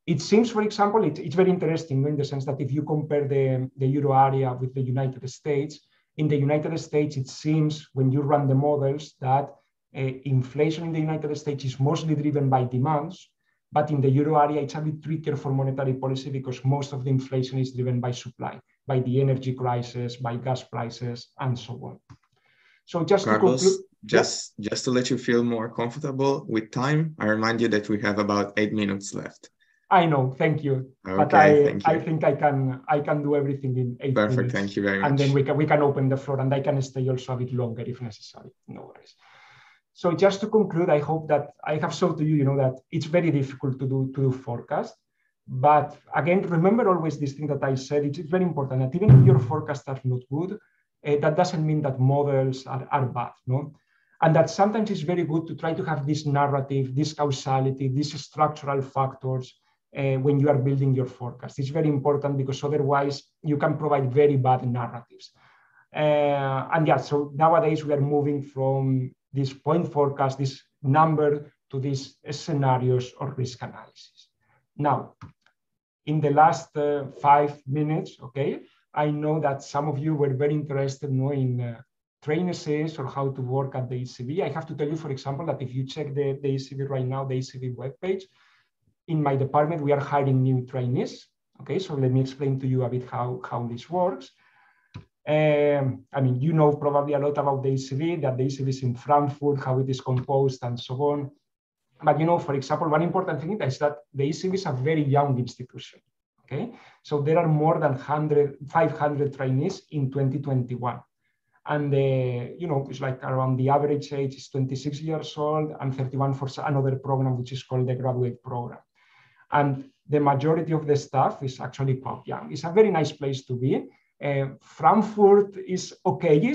It seems, for example, it's very interesting in the sense that if you compare the euro area with the United States, in the United States, it seems when you run the models that inflation in the United States is mostly driven by demands, but in the euro area, it's a bit trickier for monetary policy because most of the inflation is driven by supply, by the energy crisis, by gas prices, and so on. So just Carlos, to conclude, just to let you feel more comfortable with time, I remind you that we have about 8 minutes left. I know, thank you. Okay, but I think I can do everything in 8 minutes. Perfect, thank you very much. And then we can open the floor, and I can stay also a bit longer if necessary. No worries. So just to conclude, I hope that I have shown to you, that it's very difficult to do forecast. But again, remember always this thing that I said. It's very important that even if your forecasts are not good, that doesn't mean that models are bad, no? And that sometimes it's very good to try to have this narrative, this causality, these structural factors when you are building your forecast. It's very important because otherwise you can provide very bad narratives. And yeah, so nowadays we are moving from this point forecast, this number, to these scenarios or risk analysis. Now, in the last 5 minutes, okay, I know that some of you were very interested in train essays or how to work at the ECB. I have to tell you, for example, that if you check the ECB right now, the ECB webpage, in my department, we are hiring new trainees. Okay, so let me explain to you a bit how this works. I mean, you know probably a lot about the ECB, that the ECB is in Frankfurt, how it is composed, and so on. But for example, one important thing is that the ECB is a very young institution. Okay, so there are more than 500 trainees in 2021. And it's like around the average age is 26 years old and 31 for another program, which is called the graduate program. And the majority of the staff is actually quite young. It's a very nice place to be. Frankfurt is okay,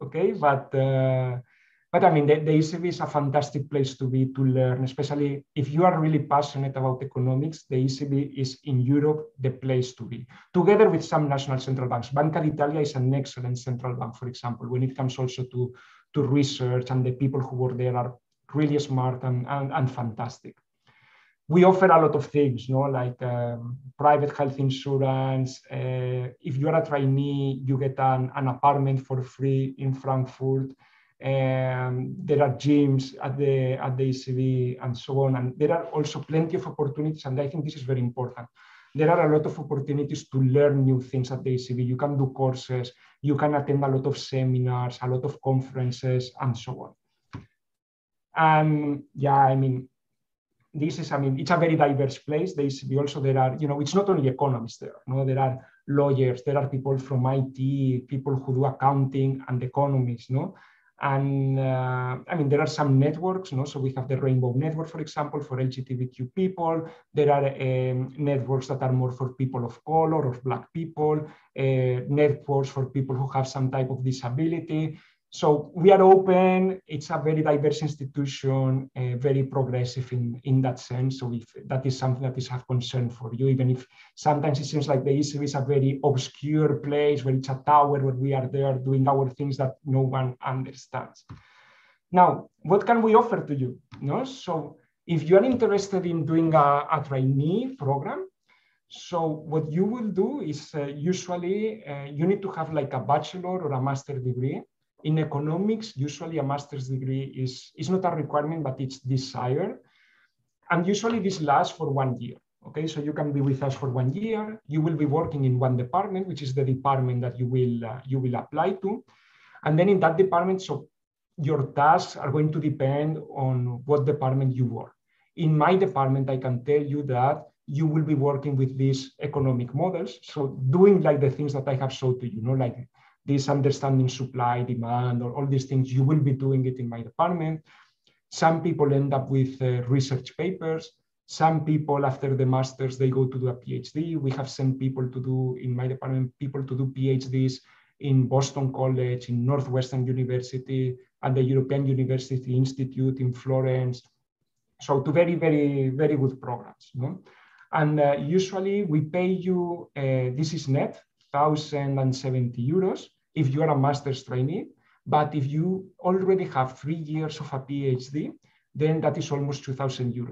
but I mean, the ECB is a fantastic place to be, to learn, especially if you are really passionate about economics. The ECB is in Europe the place to be, together with some national central banks. Banca d'Italia is an excellent central bank, for example, when it comes also to research, and the people who work there are really smart and fantastic. We offer a lot of things, like private health insurance. If you are a trainee, you get an apartment for free in Frankfurt. There are gyms at the ECB and so on. And there are also plenty of opportunities, and I think this is very important. There are a lot of opportunities to learn new things at the ECB. You can do courses, you can attend a lot of seminars, a lot of conferences, and so on. And yeah, I mean, it's a very diverse place. The ECB also, there are, it's not only economists there. There are lawyers, there are people from IT, people who do accounting and economists, And I mean, there are some networks, so we have the Rainbow Network, for example, for LGBTQ people. There are networks that are more for people of color or Black people, networks for people who have some type of disability. So we are open. It's a very diverse institution, very progressive in that sense. So if that is something that is of concern for you, even if sometimes it seems like the ECB is a very obscure place where it's a tower where we are there doing our things that no one understands. Now, what can we offer to you? So if you are interested in doing a trainee program, so what you will do is usually you need to have like a bachelor or a master's degree. In economics, usually a master's degree is not a requirement, but it's desired. And usually this lasts for 1 year. Okay, so you can be with us for 1 year. You will be working in one department, which is the department that you will apply to. And then in that department, so your tasks are going to depend on what department you work. In my department, I can tell you that you will be working with these economic models. So doing like the things that I have showed to you, like this understanding supply, demand, or all these things, you will be doing it in my department. Some people end up with research papers. Some people, after the master's, they go to do a PhD. We have sent people to do, in my department, people to do PhDs in Boston College, in Northwestern University, at the European University Institute in Florence. So to very, very, very good programs. And usually we pay you, this is net, 1,070 euros if you are a master's trainee. But if you already have 3 years of a PhD, then that is almost 2,000 euros.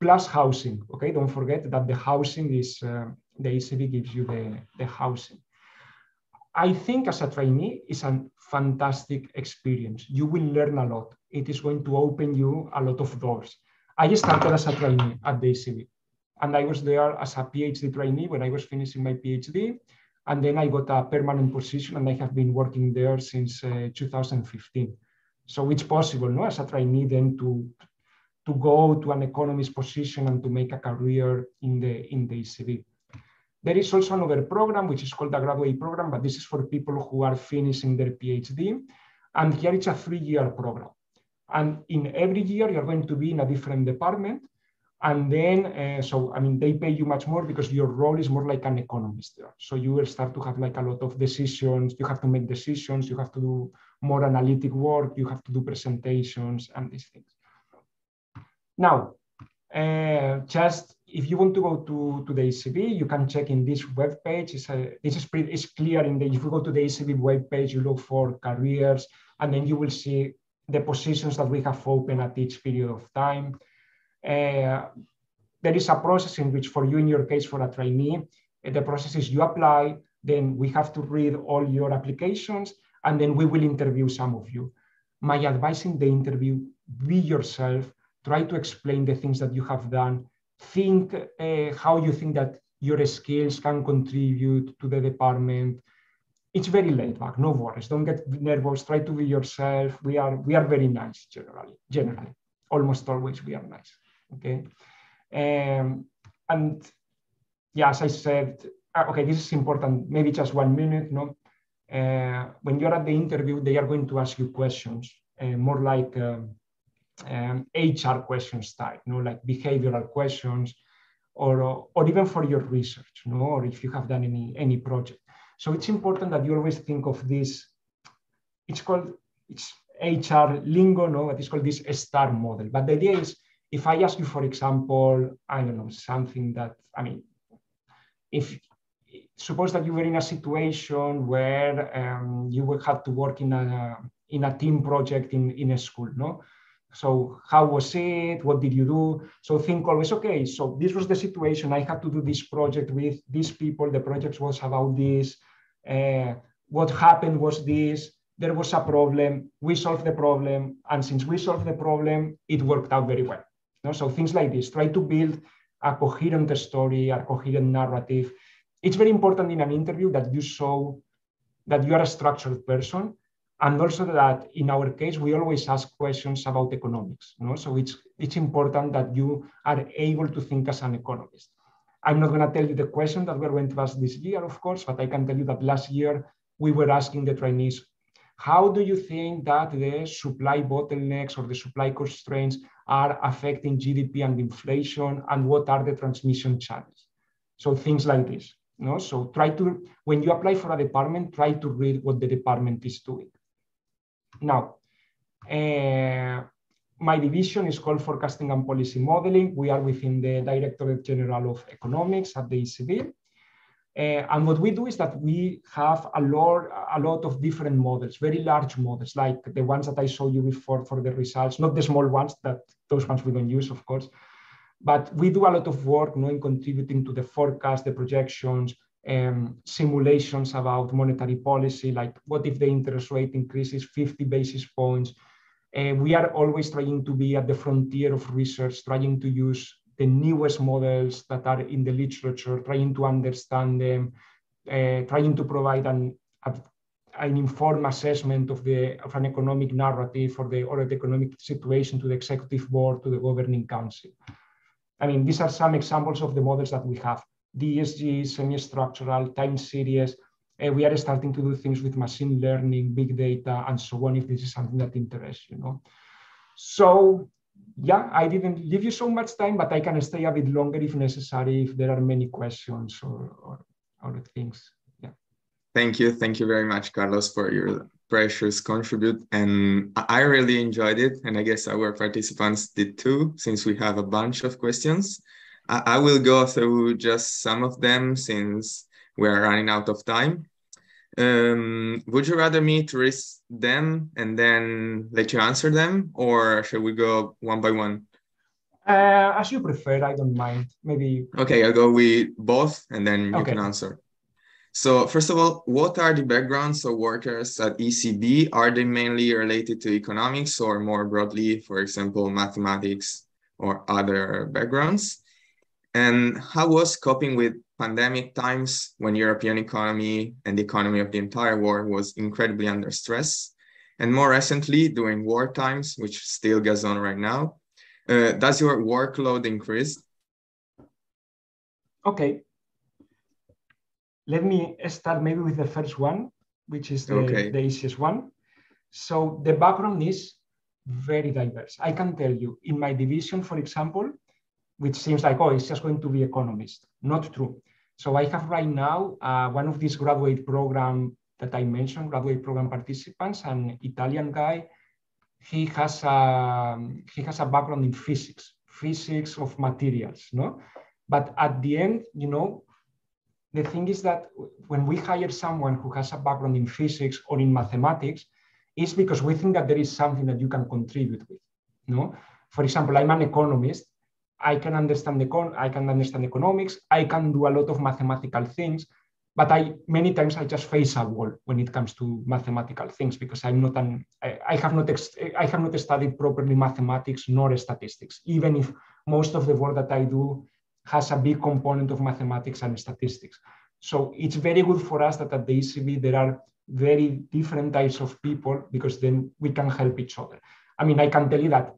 plus housing. Okay, don't forget that the housing is, the ECB gives you the housing. I think as a trainee, it's a fantastic experience. You will learn a lot. It is going to open you a lot of doors. I started as a trainee at the ECB, and I was there as a PhD trainee when I was finishing my PhD. And then I got a permanent position, and I have been working there since 2015. So it's possible, no, as a trainee then to go to an economist position and to make a career in the ECB. There is also another program, which is called the graduate program, but this is for people who are finishing their PhD. And here it's a 3-year program. And in every year, you're going to be in a different department. And then, so, I mean, they pay you much more because your role is more like an economist there. So you will start to have like a lot of decisions. You have to make decisions. You have to do more analytic work. You have to do presentations and these things. Now, just if you want to go to the ECB, you can check in this web page. It's clear if you go to the ECB web page, you look for careers, and then you will see the positions that we have open at each period of time. There is a process in which, for you, in your case, for a trainee, the process is you apply, then we have to read all your applications, and then we will interview some of you. My advice in the interview, be yourself. Try to explain the things that you have done. Think how you think that your skills can contribute to the department. It's very laid back, no worries. Don't get nervous. Try to be yourself. We are very nice generally. Almost always we are nice. Okay. And yeah, as I said, okay, this is important. Maybe just 1 minute. No, when you're at the interview, they are going to ask you questions, more like HR questions type, like behavioral questions, or even for your research, or if you have done any project. So it's important that you always think of this. It's HR lingo, but it's called this STAR model. But the idea is, if I ask you, for example, I don't know, something that, I mean, suppose that you were in a situation where you will have to work in a team project in a school, no? So how was it? What did you do? So think always, okay, so this was the situation. I had to do this project with these people. The project was about this. What happened was this. There was a problem. We solved the problem. And since we solved the problem, it worked out very well. So things like this. Try to build a coherent story, a coherent narrative. It's very important in an interview that you show that you are a structured person. And also that in our case, we always ask questions about economics. So it's important that you are able to think as an economist. I'm not going to tell you the question that we're going to ask this year, of course, but I can tell you that last year we were asking the trainees, how do you think that the supply bottlenecks or the supply constraints are affecting GDP and inflation, and what are the transmission channels? So things like this. So try to, when you apply for a department, try to read what the department is doing. Now, my division is called Forecasting and Policy Modeling. We are within the Directorate General of Economics at the ECB. And what we do is that we have a lot of different models, very large models, like the ones that I showed you before for the results, not the small ones, those ones we don't use, of course. But we do a lot of work in contributing to the forecast, the projections, simulations about monetary policy, like what if the interest rate increases 50 basis points. We are always trying to be at the frontier of research, trying to use the newest models that are in the literature, trying to understand them, trying to provide an informed assessment of an economic narrative or the economic situation to the executive board, to the governing council. I mean, these are some examples of the models that we have. DSG, semi-structural, time series. We are starting to do things with machine learning, big data, and so on, if this is something that interests you. So, yeah, I didn't leave you so much time, but I can stay a bit longer if necessary, if there are many questions or things. Yeah. Thank you. Thank you very much, Carlos, for your precious contribute. And I really enjoyed it. And I guess our participants did too, since we have a bunch of questions. I will go through just some of them since we're running out of time. Would you rather me to list them and then let you answer them, or should we go one by one? As you prefer, I don't mind. Maybe. Okay, I'll go with both and then you Okay. can answer. So first of all, what are the backgrounds of workers at ECB? Are they mainly related to economics or more broadly, for example, mathematics or other backgrounds? And how was coping with pandemic times when European economy and the economy of the entire world was incredibly under stress? And more recently, during war times, which still goes on right now, does your workload increase? Okay. Let me start maybe with the first one, which is the easiest one. So the background is very diverse. I can tell you, in my division, for example, which seems like, oh, it's just going to be economist. Not true. So I have right now one of these graduate program that I mentioned, graduate program participants, an Italian guy. He has a background in physics of materials, no? But at the end, you know, the thing is that when we hire someone who has a background in physics or in mathematics, it's because we think that there is something that you can contribute with, no? For example, I'm an economist. I can understand economics. I can do a lot of mathematical things, but many times I just face a wall when it comes to mathematical things because I have not studied properly mathematics nor statistics, even if most of the work that I do has a big component of mathematics and statistics. So it's very good for us that at the ECB there are very different types of people because then we can help each other. I mean, I can tell you that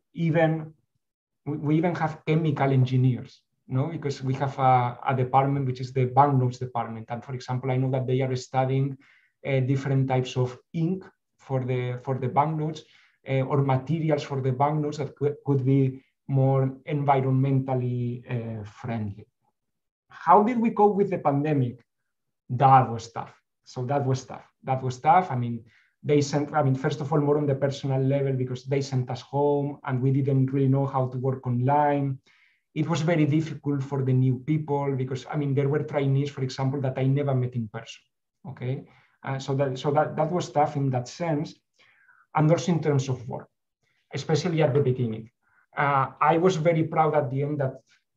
we even have chemical engineers, no? Because we have a department which is the banknotes department. And for example, I know that they are studying different types of ink for the banknotes or materials for the banknotes that could be more environmentally friendly. How did we cope with the pandemic? That was tough. So that was tough. I mean, first of all, more on the personal level, because they sent us home and we didn't really know how to work online. It was very difficult for the new people because, I mean, there were trainees, for example, that I never met in person, okay? So that was tough in that sense. And also in terms of work, especially at the beginning. I was very proud at the end that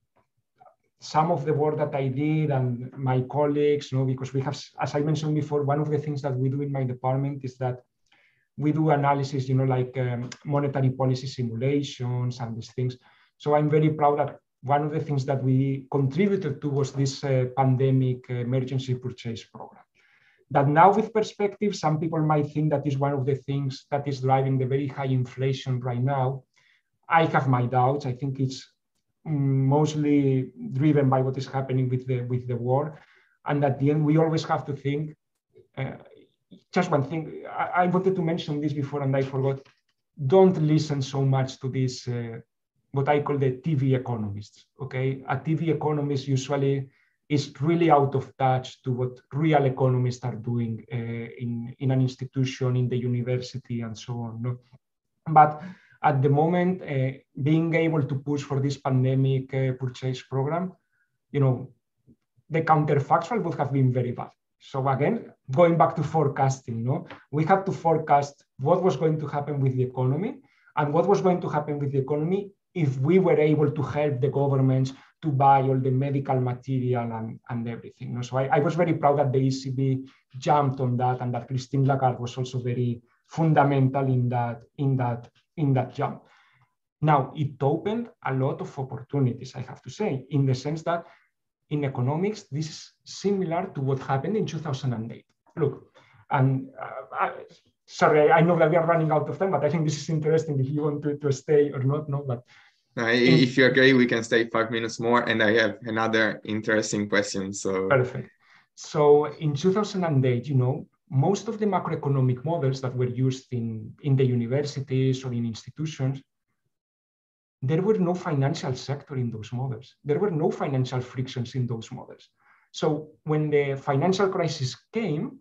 some of the work that I did and my colleagues, you know, because we have, as I mentioned before, one of the things that we do in my department is that we do analysis, you know, like monetary policy simulations and these things. So I'm very proud that one of the things that we contributed to was this pandemic emergency purchase program. That now with perspective, some people might think that is one of the things that is driving the very high inflation right now. I have my doubts. I think it's mostly driven by what is happening with the war. And at the end, we always have to think, just one thing, I wanted to mention this before and I forgot, don't listen so much to this, what I call the TV economists, okay? A TV economist usually is really out of touch to what real economists are doing in an institution, in the university and so on. No? But at the moment, being able to push for this pandemic purchase program, you know, the counterfactual would have been very bad. So again, going back to forecasting, no, we had to forecast what was going to happen with the economy and what was going to happen with the economy if we were able to help the governments to buy all the medical material and everything. No? So I was very proud that the ECB jumped on that and that Christine Lagarde was also very fundamental in that jump. Now, it opened a lot of opportunities, I have to say, in the sense that in economics, this is similar to what happened in 2008. Look, and sorry, I know that we are running out of time, but I think this is interesting if you want to stay or not. No, but if you agree, we can stay 5 minutes more, and I have another interesting question. So perfect. So in 2008, you know, most of the macroeconomic models that were used in the universities or in institutions, there were no financial sector in those models. There were no financial frictions in those models. So when the financial crisis came,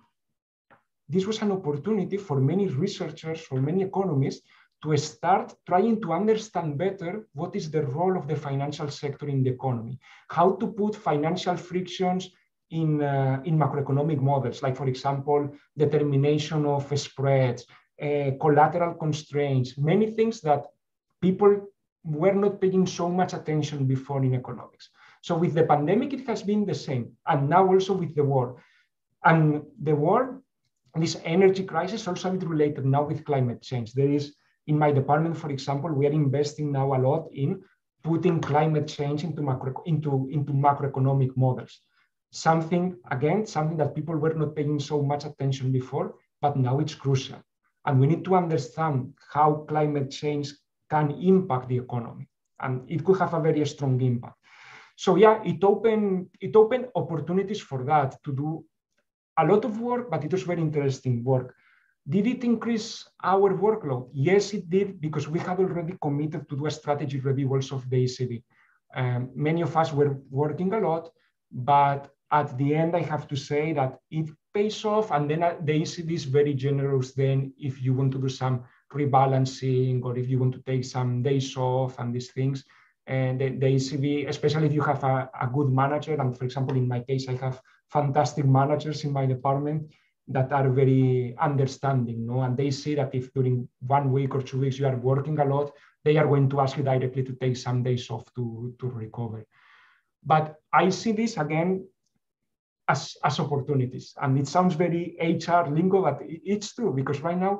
this was an opportunity for many researchers, for many economists, to start trying to understand better what is the role of the financial sector in the economy, how to put financial frictions in macroeconomic models, like, for example, determination of spreads, collateral constraints, many things that people were not paying so much attention before in economics. So with the pandemic, it has been the same. And now also with the war. And the war, this energy crisis also is related now with climate change. There is, in my department, for example, we are investing now a lot in putting climate change into macroeconomic models. Something that people were not paying so much attention before, but now it's crucial. And we need to understand how climate change can impact the economy. And it could have a very strong impact. So yeah, it opened opportunities for that, to do a lot of work, but it was very interesting work. Did it increase our workload? Yes, it did, because we had already committed to do a strategy review also of the ECB. Many of us were working a lot, but at the end, I have to say that it pays off. And then the ECB is very generous then if you want to do some rebalancing, or if you want to take some days off and these things. And the ECB, especially if you have a good manager, and for example, in my case, I have fantastic managers in my department that are very understanding, no? And they see that if during 1 week or 2 weeks you are working a lot, they are going to ask you directly to take some days off to recover. But I see this again as opportunities. And it sounds very HR lingo, but it's true, because right now,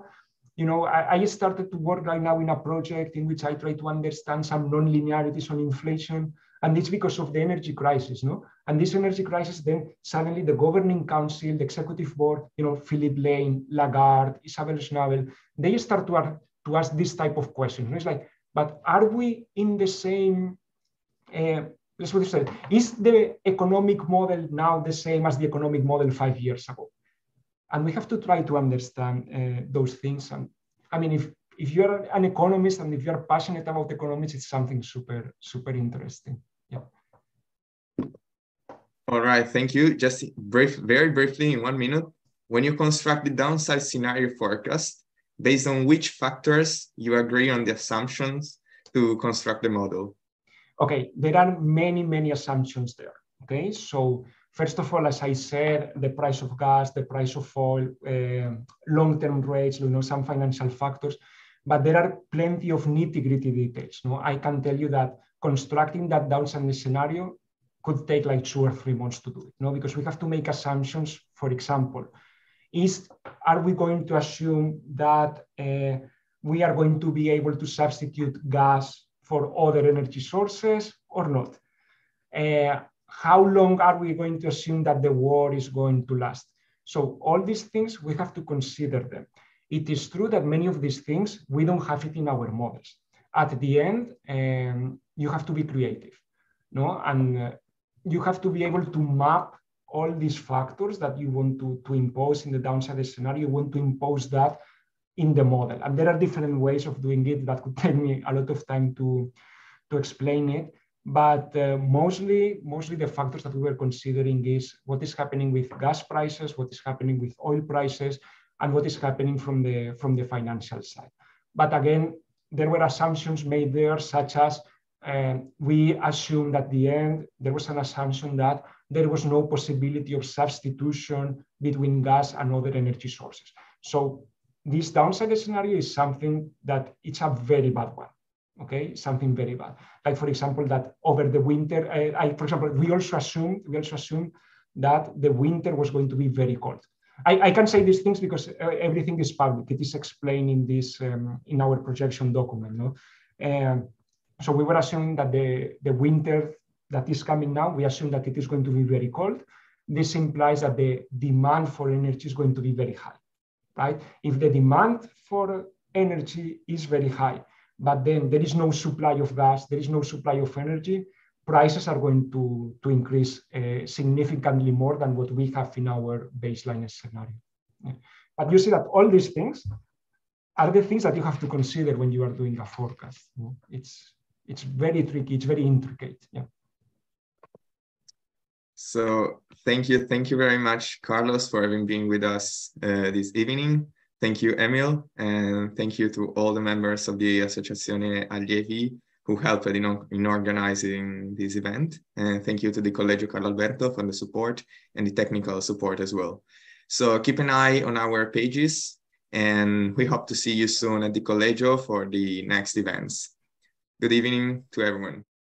I started to work right now in a project in which I try to understand some non-linearities on inflation. And it's because of the energy crisis, no? And this energy crisis, then suddenly the governing council, the executive board, Philip Lane, Lagarde, Isabel Schnabel, they start to ask this type of questions. It's like, but are we in the same, let's put it this way, is the economic model now the same as the economic model 5 years ago? And we have to try to understand those things. And I mean, if you're an economist and if you're passionate about economics, it's something super, super interesting. Yeah. All right, thank you. Just very briefly, in 1 minute, when you construct the downside scenario forecast, based on which factors you agree on the assumptions to construct the model? Okay, there are many, many assumptions there. Okay, so first of all, as I said, the price of gas, the price of oil, long-term rates, some financial factors, but there are plenty of nitty-gritty details. I can tell you that constructing that downside scenario could take like 2 or 3 months to do it, because we have to make assumptions. For example, are we going to assume that we are going to be able to substitute gas for other energy sources or not? How long are we going to assume that the war is going to last? So all these things, we have to consider them. It is true that many of these things, we don't have it in our models. At the end, you have to be creative, no? And you have to be able to map all these factors that you want to impose in the downside scenario. You want to impose that in the model. And there are different ways of doing it that could take me a lot of time to explain it. But mostly the factors that we were considering is what is happening with gas prices, what is happening with oil prices, and what is happening from the financial side. But again, there were assumptions made there, such as we assumed at the end, there was an assumption that there was no possibility of substitution between gas and other energy sources. So this downside scenario is something that it's a very bad one. Okay, something very bad. Like, for example, that over the winter, for example, we also assumed that the winter was going to be very cold. I can say these things because everything is public. It is explained in this in our projection document. No, so we were assuming that the winter that is coming now, we assume that it is going to be very cold. This implies that the demand for energy is going to be very high, right? If the demand for energy is very high, but then there is no supply of gas, there is no supply of energy, prices are going to increase significantly more than what we have in our baseline scenario. Yeah. But you see that all these things are the things that you have to consider when you are doing a forecast. It's very tricky, it's very intricate. Yeah. So thank you very much, Carlos, for having been with us this evening. Thank you, Emil, and thank you to all the members of the Associazione Allievi who helped in organizing this event. And thank you to the Collegio Carlo Alberto for the support and the technical support as well. So keep an eye on our pages, and we hope to see you soon at the Collegio for the next events. Good evening to everyone.